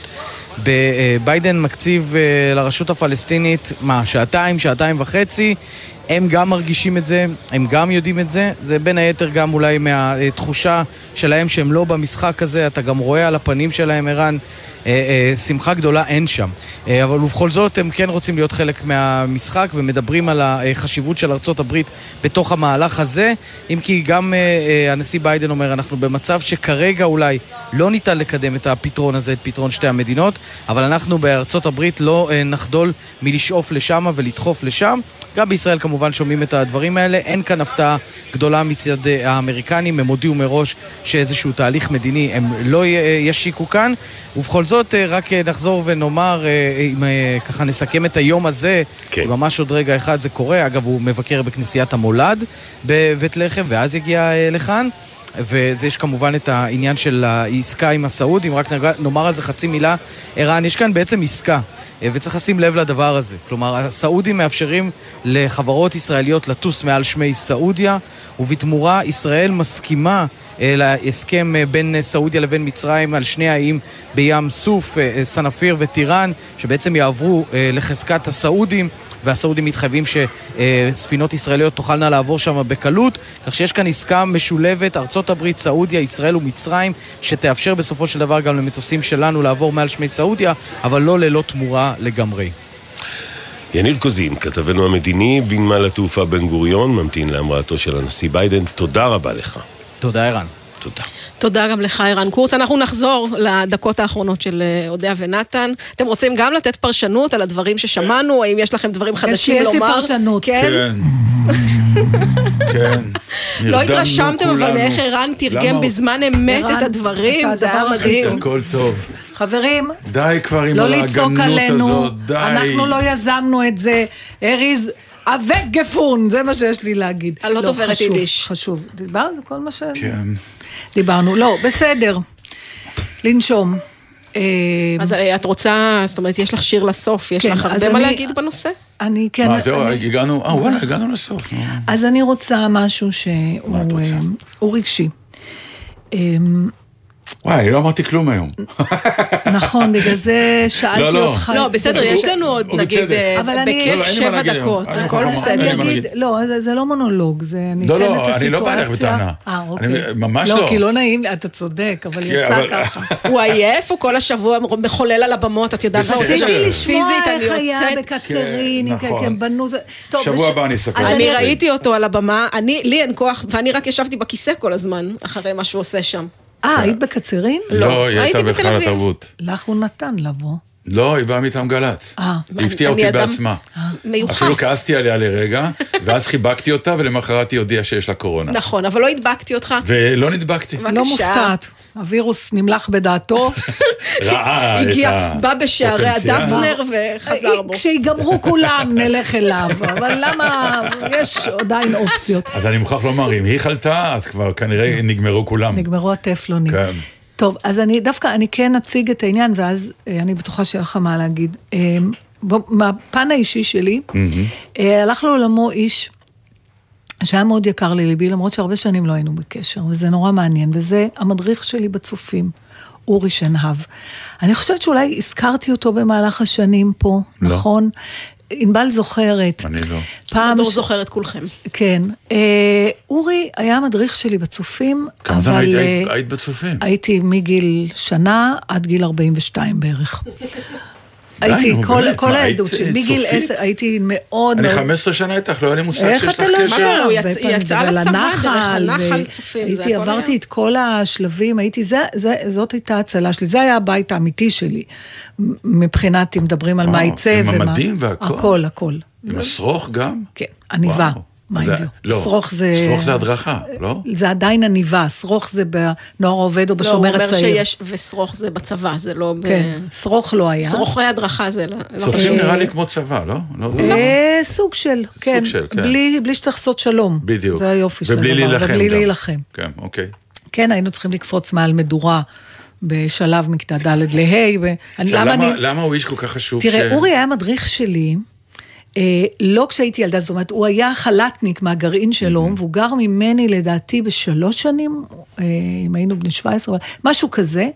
ביידן מקציב לרשות הפלסטינית, מה, שעתיים, שעתיים וחצי, הם גם מרגישים את זה, הם גם יודעים את זה, זה בין היתר גם אולי מהתחושה שלהם שהם לא במשחק הזה, אתה גם רואה על הפנים שלהם, ערן, שמחה גדולה אין שם. אבל ובכל זאת הם כן רוצים להיות חלק מהמשחק ומדברים על החשיבות של ארצות הברית בתוך המהלך הזה, אם כי גם הנשיא ביידן אומר, אנחנו במצב שכרגע אולי לא ניתן לקדם את הפתרון הזה, את פתרון שתי המדינות, אבל אנחנו בארצות הברית לא נחדול מלשאוף לשם ולדחוף לשם. גם בישראל כמובן שומעים את הדברים האלה, אין כאן הפתעה גדולה מצד האמריקנים, הם הודיעו מראש שאיזשהו תהליך מדיני הם לא ישיקו כאן, ובכל זאת רק נחזור ונאמר, אם ככה נסכם את היום הזה, כן. ממש עוד רגע אחד זה קורה, אגב הוא מבקר בכנסיית המולד בבית לחם, ואז יגיע לכאן, וזה יש כמובן את העניין של העסקה עם הסעודים, רק נאמר על זה חצי מילה, ערן, יש כאן בעצם עסקה, וצריך לשים לב לדבר הזה. כלומר, הסעודים מאפשרים לחברות ישראליות לטוס מעל שמי סעודיה, ובתמורה ישראל מסכימה להסכם בין סעודיה לבין מצרים על שני האיים בים סוף, סנפיר וטירן, שבעצם יעברו לחזקת הסעודים, והסעודים מתחייבים שספינות ישראליות תוכלנה לעבור שם בקלות, כך שיש כאן עסקה משולבת, ארצות הברית, סעודיה, ישראל ומצרים, שתאפשר בסופו של דבר גם למטוסים שלנו לעבור מעל שמי סעודיה, אבל לא ללא תמורה לגמרי. יניר קוזין, כתבנו המדיני בנמל התעופה בן גוריון, ממתין להמראתו של הנשיא ביידן. תודה רבה לך. תודה, ערן. תודה. תודה גם לך, ערן קורץ. אנחנו נחזור לדקות האחרונות של אודיה ונתן. אתם רוצים גם לתת פרשנות על הדברים ששמענו? האם יש לכם דברים חדשים לומר? יש לי פרשנות. כן. כן. לא התרשמתם, אבל מאיך ערן תרגם בזמן אמת את הדברים, זה היה מדהים. הכל טוב. חברים, די כבר עם לא לצעוק עלינו, די. אנחנו לא יזמנו את זה, אריז אבק גפון, זה מה שיש לי להגיד. אני לא דוברת יידיש. חשוב, דיברנו כל מה ש... כן. דיברנו, לא, בסדר, לנשום. אז את רוצה, זאת אומרת, יש לך שיר לסוף, יש לך הרבה מה להגיד בנושא? אני כן... מה, זהו, הגענו, אה, וואלה, הגענו לסוף. אז אני רוצה משהו שהוא רגשי. וואי, אני לא אמרתי כלום היום. נכון, בגלל זה שאלתי אותך. לא, בסדר, יש לנו עוד, נגיד, בכיף שבע דקות. הכל בסדר. לא, זה לא מונולוג, זה אני לא, אתן את לא, הסיטואציה. אני לא בא לך בטענה. אה, אוקיי. ממש לא. לא, כי לא נעים, אתה צודק, אבל יצא ככה. הוא עייף, הוא כל השבוע מחולל על הבמות, את יודעת. רציתי לשמוע איך היה בקצרין, הם בנו זה... שבוע הבא אני אסכם. אני ראיתי אותו על הבמה, לי אין כוח, ואני רק ישבתי בכיסא כל הזמן, אחרי מה שהוא עושה שם. אה, היית בקצרין? לא, היא הייתה בכלל התרבות. לך הוא נתן לבוא. לא, היא באה מטעם גל"צ. היא הפתיעה אותי בעצמה. מיוחס. אפילו כעסתי עליה לרגע, ואז חיבקתי אותה, ולמחרת היא הודיעה שיש לה קורונה. נכון, אבל לא הדבקתי אותך. ולא נדבקתי. לא מופתעת. הווירוס נמלח בדעתו. ראה את הגיע, בא בשערי הפוטנציאל. הדטנר וחזר בו. כשיגמרו כולם נלך אליו, אבל למה יש עדיין אופציות. אז אני מוכרח לומר, אם היא חלתה, אז כבר כנראה נגמרו כולם. נגמרו הטפלונים. כן. טוב, אז אני דווקא, אני כן אציג את העניין, ואז אני בטוחה שיהיה לך מה להגיד. מהפן האישי שלי, הלך לעולמו איש שהיה מאוד יקר לליבי, למרות שהרבה שנים לא היינו בקשר, וזה נורא מעניין, וזה המדריך שלי בצופים, אורי שנהב. אני חושבת שאולי הזכרתי אותו במהלך השנים פה, לא. נכון? ענבל זוכרת. אני לא. פעם ש... זוכרת כולכם. כן. אה, אורי היה המדריך שלי בצופים, כמה זמן היית, היית, היית בצופים? הייתי מגיל שנה עד גיל ארבעים ושתיים בערך. הייתי, כל העדות שלי, מגיל עשר, הייתי מאוד... אני חמש עשרה שנה איתך, לא היה לי מושג שיש לך קשר. היא יצאה לצבא דרך הנחל צופים. הייתי, עברתי את כל השלבים, הייתי, זאת הייתה הצלה שלי, זה היה הבית האמיתי שלי, מבחינת, אם מדברים על מה יצא. עם המדים והכל? הכל, הכל. עם השרוך גם? כן, עניבה. לא, שרוך זה... שרוך זה הדרכה, לא? זה עדיין עניבה, שרוך זה בנוער עובד או בשומר הצעיר. לא, הוא אומר שיש, ושרוך זה בצבא, זה לא... כן, שרוך לא היה. שרוכי הדרכה זה לא... צופים נראה לי כמו צבא, לא? סוג של, כן. סוג של, כן. בלי שצריך לעשות שלום. בדיוק. זה היופי של הדבר. ובלי להילחם גם. ובלי להילחם. כן, אוקיי. כן, היינו צריכים לקפוץ מעל מדורה. בשלב מכתה ד' לה'. למה הוא איש כל כך חשוב? תראה, אורי היה מדריך שלי, לא כשהייתי ילדה, זאת אומרת, הוא היה חלטניק מהגרעין שלו, והוא גר ממני לדעתי בשלוש שנים, אם היינו בני שבע עשרה, משהו כזה,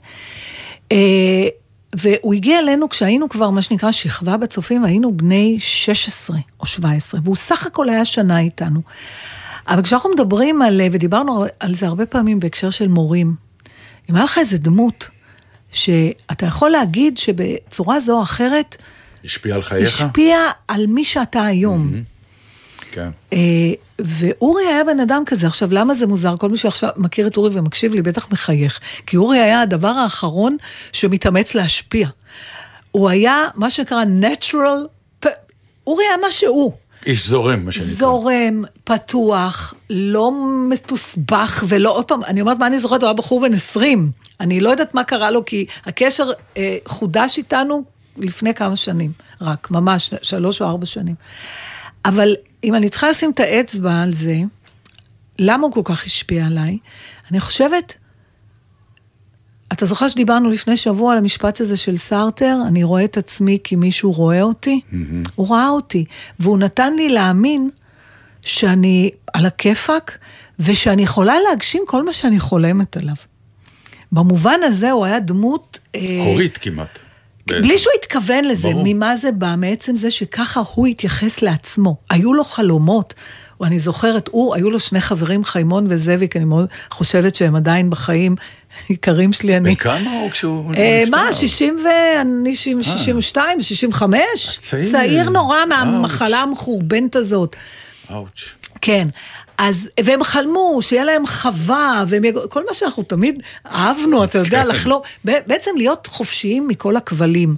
והוא הגיע אלינו כשהיינו כבר, מה שנקרא, שכבה בצופים, היינו בני שש עשרה או שבע עשרה, והוא סך הכל היה שנה איתנו. אבל כשאנחנו מדברים על, ודיברנו על זה הרבה פעמים בהקשר של מורים, אם היה לך איזה דמות, שאתה יכול להגיד שבצורה זו או אחרת, השפיע על חייך? השפיע על מי שאתה היום. כן. ואורי היה בן אדם כזה. עכשיו, למה זה מוזר? כל מי שעכשיו מכיר את אורי ומקשיב לי, בטח מחייך. כי אורי היה הדבר האחרון שמתאמץ להשפיע. הוא היה מה שנקרא natural, אורי היה מה שהוא. איש זורם, מה שנקרא. זורם, פתוח, לא מתוסבך, ולא, עוד פעם, אני אומרת מה אני זוכרת, הוא היה בחור בן עשרים. אני לא יודעת מה קרה לו, כי הקשר אה, חודש איתנו לפני כמה שנים, רק, ממש, שלוש או ארבע שנים. אבל אם אני צריכה לשים את האצבע על זה, למה הוא כל כך השפיע עליי? אני חושבת, אתה זוכר שדיברנו לפני שבוע על המשפט הזה של סארטר, אני רואה את עצמי כי מישהו רואה אותי, mm-hmm. הוא ראה אותי, והוא נתן לי להאמין שאני על הכיפק, ושאני יכולה להגשים כל מה שאני חולמת עליו. במובן הזה הוא היה דמות... הורית אה, כמעט. בלי שהוא התכוון לזה, ברור. ממה זה בא, מעצם זה שככה הוא התייחס לעצמו. היו לו חלומות, ואני זוכרת, הוא, היו לו שני חברים, חיימון וזאביק, אני מאוד חושבת שהם עדיין בחיים, עיקרים שלי, אני... בכמה הוא כשהוא נפטר? מה, שישים ואני שישים ושתיים, שישים וחמש? צעיר נורא מהמחלה המחורבנת הזאת. אוץ'. כן. אז, והם חלמו שיהיה להם חווה, וכל מה שאנחנו תמיד אהבנו, אתה יודע, לחלום, בעצם להיות חופשיים מכל הכבלים.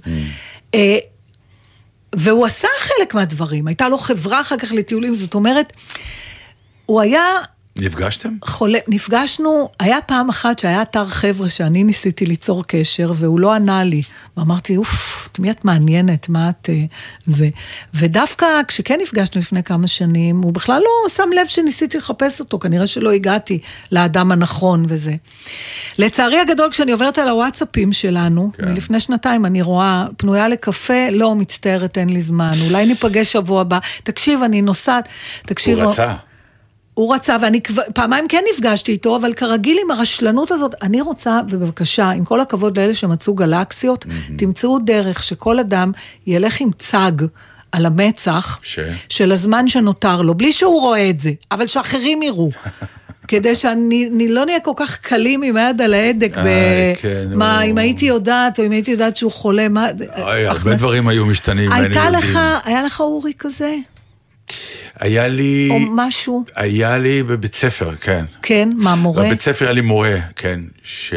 והוא עשה חלק מהדברים, הייתה לו חברה אחר כך לטיולים, זאת אומרת, הוא היה... נפגשתם? חולה, נפגשנו, היה פעם אחת שהיה אתר חבר'ה שאני ניסיתי ליצור קשר, והוא לא ענה לי. ואמרתי, אוף, תמי את מעניינת, מה את זה? ודווקא כשכן נפגשנו לפני כמה שנים, הוא בכלל לא שם לב שניסיתי לחפש אותו, כנראה שלא הגעתי לאדם הנכון וזה. לצערי הגדול, כשאני עוברת על הוואטסאפים שלנו, כן. מלפני שנתיים אני רואה, פנויה לקפה, לא מצטערת, אין לי זמן, אולי ניפגש שבוע הבא, תקשיב, אני נוסעת, תקשיב... הוא רצה. הוא רצה, ואני פעמיים כן נפגשתי איתו, אבל כרגיל עם הרשלנות הזאת, אני רוצה, ובבקשה, עם כל הכבוד לאלה שמצאו גלקסיות, mm-hmm. תמצאו דרך שכל אדם ילך עם צג על המצח, ש... של הזמן שנותר לו, בלי שהוא רואה את זה, אבל שאחרים יראו. כדי שאני לא נהיה כל כך קלים עם היד על ההדק, מה, אם הייתי יודעת, או אם הייתי יודעת שהוא חולה, מה... הרבה דברים היו משתנים. הייתה לך, היה לך אורי כזה? היה לי... או משהו? היה לי בבית ספר, כן. כן, מה, מורה? בבית ספר היה לי מורה, כן, ש...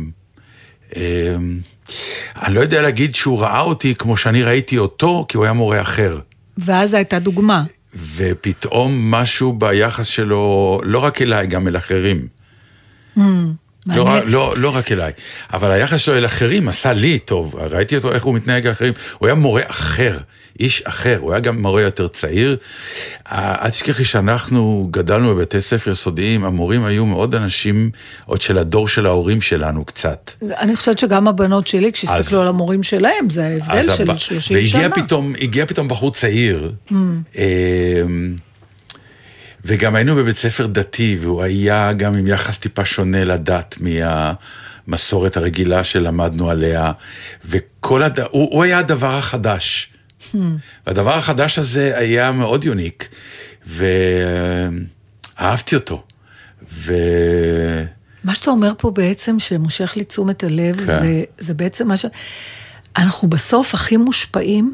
אני לא יודע להגיד שהוא ראה אותי כמו שאני ראיתי אותו, כי הוא היה מורה אחר. ואז הייתה דוגמה. ופתאום משהו ביחס שלו, לא רק אליי, גם אל אחרים. לא, לא, לא רק אליי, אבל היחס שלו אל אחרים עשה לי טוב, ראיתי אותו איך הוא מתנהג לאחרים, הוא היה מורה אחר, איש אחר, הוא היה גם מורה יותר צעיר, אל תשכחי שאנחנו גדלנו בבתי ספר סודיים, המורים היו מאוד אנשים, עוד של הדור של ההורים שלנו קצת. אני חושבת שגם הבנות שלי, כשהסתכלו על המורים שלהם, זה ההבדל של שלושים שנה. והגיע פתאום בחור צעיר, וגם היינו בבית ספר דתי, והוא היה גם עם יחס טיפה שונה לדת מהמסורת הרגילה שלמדנו עליה, וכל הד... הוא, הוא היה הדבר החדש. Hmm. והדבר החדש הזה היה מאוד יוניק, ואהבתי אותו. ו... מה שאתה אומר פה בעצם, שמושך לי תשומת הלב, כן. זה, זה בעצם מה ש... אנחנו בסוף הכי מושפעים,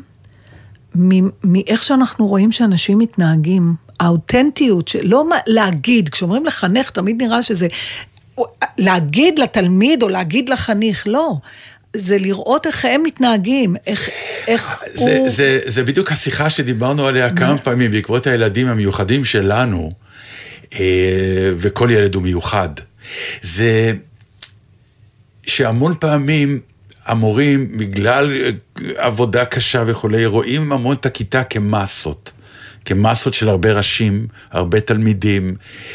מאיך שאנחנו רואים שאנשים מתנהגים, האותנטיות, לא להגיד, כשאומרים לחנך, תמיד נראה שזה, להגיד לתלמיד או להגיד לחניך, לא. זה לראות איך הם מתנהגים, איך, איך זה, הוא... זה, זה בדיוק השיחה שדיברנו עליה כמה פעמים, בעקבות הילדים המיוחדים שלנו, וכל ילד הוא מיוחד. זה שהמון פעמים, המורים, בגלל עבודה קשה וכולי, רואים המון את הכיתה כמסות, כמסות של הרבה ראשים, הרבה תלמידים,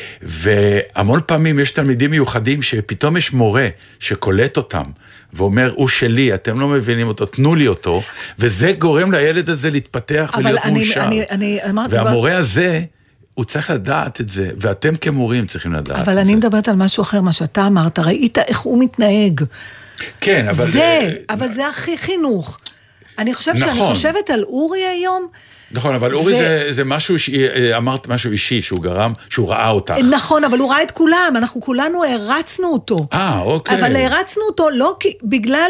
והמון פעמים יש תלמידים מיוחדים שפתאום יש מורה שקולט אותם, ואומר, הוא שלי, אתם לא מבינים אותו, תנו לי אותו, וזה גורם לילד הזה להתפתח ולהיות אני, מאושר. אני, אני, והמורה דבר... הזה, הוא צריך לדעת את זה, ואתם כמורים צריכים לדעת את זה. אבל אני מדברת על משהו אחר, מה שאתה אמרת, ראית איך הוא מתנהג. כן, אבל... זה, אבל זה הכי חינוך. אני חושבת שאני חושבת על אורי היום... נכון, אבל אורי זה, זה משהו, אמרת משהו אישי, שהוא גרם, שהוא ראה אותך. נכון, אבל הוא ראה את כולם, אנחנו כולנו הרצנו אותו. אה, אוקיי. אבל הרצנו אותו לא כי, בגלל,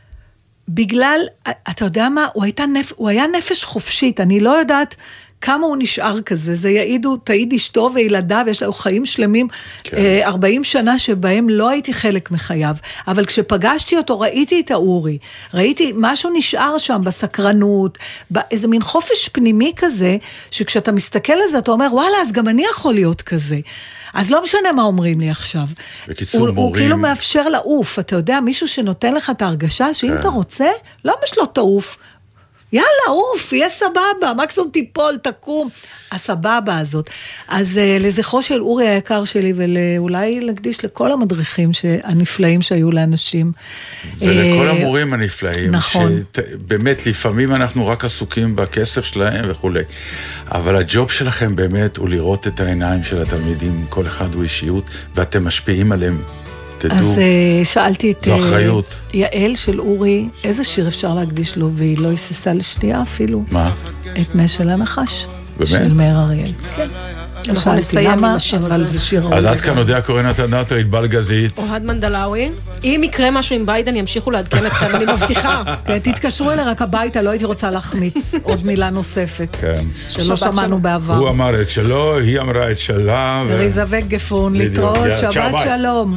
בגלל, אתה יודע מה, הוא, הייתה נפ, הוא היה נפש חופשית, אני לא יודעת כמה הוא נשאר כזה, זה יעידו, תעיד אשתו וילדיו, יש לו חיים שלמים, כן. ארבעים שנה שבהם לא הייתי חלק מחייו, אבל כשפגשתי אותו ראיתי את האורי, ראיתי משהו נשאר שם בסקרנות, באיזה מין חופש פנימי כזה, שכשאתה מסתכל על זה אתה אומר, וואלה, אז גם אני יכול להיות כזה. אז לא משנה מה אומרים לי עכשיו. בקיצור, הוא, מורים... הוא כאילו מאפשר לעוף, אתה יודע, מישהו שנותן לך את ההרגשה, שאם כן. אתה רוצה, לא משלו תעוף, יאללה, אוף, יהיה סבבה, מקסימום תיפול, תקום, הסבבה הזאת. אז uh, לזכרו של אורי היקר שלי, ואולי להקדיש לכל המדריכים הנפלאים שהיו לאנשים. ולכל המורים הנפלאים, נכון. שבאמת לפעמים אנחנו רק עסוקים בכסף שלהם וכו'. אבל הג'וב שלכם באמת הוא לראות את העיניים של התלמידים, כל אחד הוא אישיות, ואתם משפיעים עליהם. אז uh, שאלתי את uh, יעל של אורי, איזה שיר אפשר להקדיש לו, והיא לא היססה לשנייה אפילו. מה? את נשל הנחש. באמת? של מאיר אריאל. כן. שאלתי למה, אבל זה שיר... אז עד כאן יודע קורנת הנאטו, ענבל גזית. אוהד מנדלאוי. אם יקרה משהו עם ביידן, ימשיכו לעדכן אתכם, אני מבטיחה. תתקשרו אליי רק הביתה, לא הייתי רוצה להחמיץ עוד מילה נוספת. כן. שלא שמענו בעבר. הוא אמר את שלו, היא אמרה את שלה. ריזה וגפון, להתראות, שבת שלום.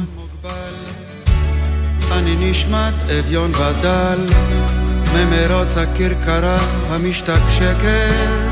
אני נשמת אביון ודל ממרוץ הכרכרה המשתקשקת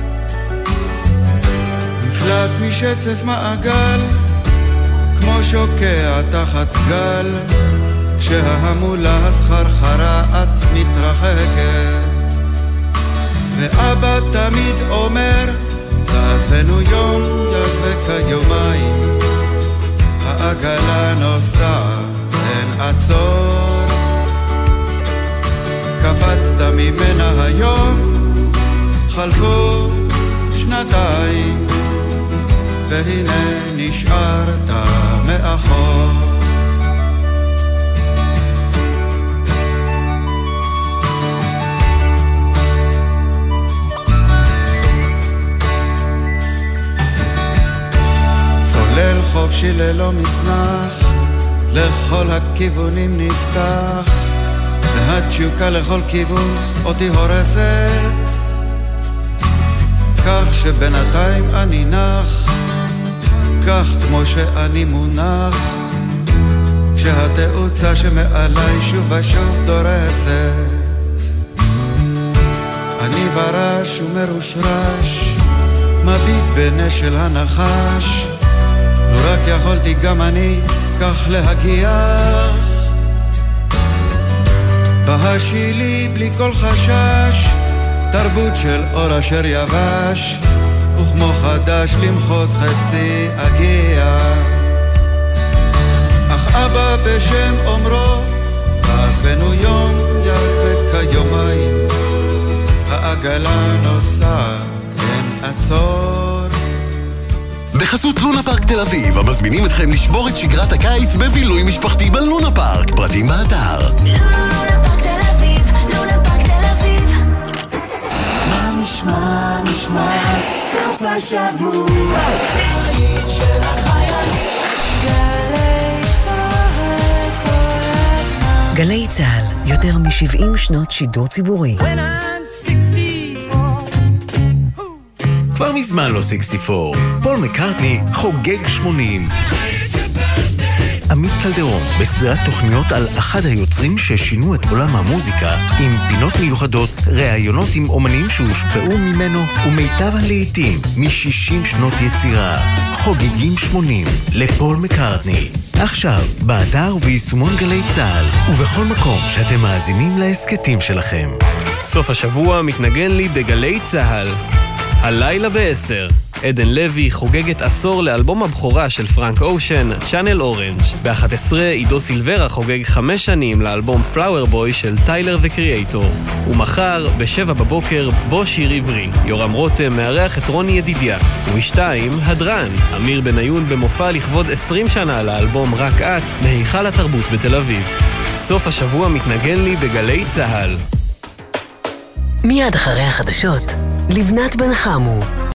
נפלט משצף מעגל כמו שוקע תחת גל כשההמולה הסחרחרה את מתרחקת ואבא תמיד אומר תעזבנו יום יעזבק יומיים העגלה נוסעת אין עצור קפצת ממנה היום חלפו שנתיים והנה נשארת מאחור צולל חופשי ללא מצנח לכל הכיוונים נפתח והתשוקה לכל כיוון אותי הורסת כך שבינתיים אני נח כך כמו שאני מונח כשהתאוצה שמעלי שוב ושוב דורסת אני ברש ומרושרש מביט בנשל הנחש רק יכולתי גם אני כך להגיח בהשילי בלי כל חשש תרבות של אור אשר יבש וכמו חדש למחוז חפצי אגיע אך אבא בשם אומרו עזבנו יום יעזבק כיומיים העגלה נוסעת אין עצור בחסות לונה פארק תל אביב המזמינים אתכם לשבור את שגרת הקיץ בבילוי משפחתי בלונה פארק פרטים באתר לונה פארק תל אביב לונה פארק תל אביב מה נשמע נשמע סוף השבוע היית של החיילים גלי צהל כל הזמן גלי צהל יותר מ-שבעים שנות שידור ציבורי כבר מזמן לא שישים וארבע. פול מקרטני חוגג שמונים. עמית קלדרון בסדרת תוכניות על אחד היוצרים ששינו את עולם המוזיקה עם פינות מיוחדות, ראיונות עם אומנים שהושפעו ממנו ומיטב הלעיתים מ-שישים שנות יצירה. חוגגים שמונים לפול מקרטני. עכשיו, באתר וביישומון גלי צהל ובכל מקום שאתם מאזינים להסקטים שלכם. סוף השבוע מתנגן לי בגלי צהל. הלילה בעשר, עדן לוי חוגגת עשור לאלבום הבכורה של פרנק אושן, צ'אנל אורנג'. ב-אחת עשרה עידו סילברה חוגג חמש שנים לאלבום פלאואר בוי של טיילר וקריאייטור. ומחר, בשבע בבוקר, בו שיר עברי. יורם רותם מארח את רוני ידידיה. ובשתיים, הדרן, אמיר בניון במופע לכבוד עשרים שנה לאלבום רק את, מהיכל התרבות בתל אביב. סוף השבוע מתנגן לי בגלי צהל. מיד אחרי החדשות, לבנת בן חמו.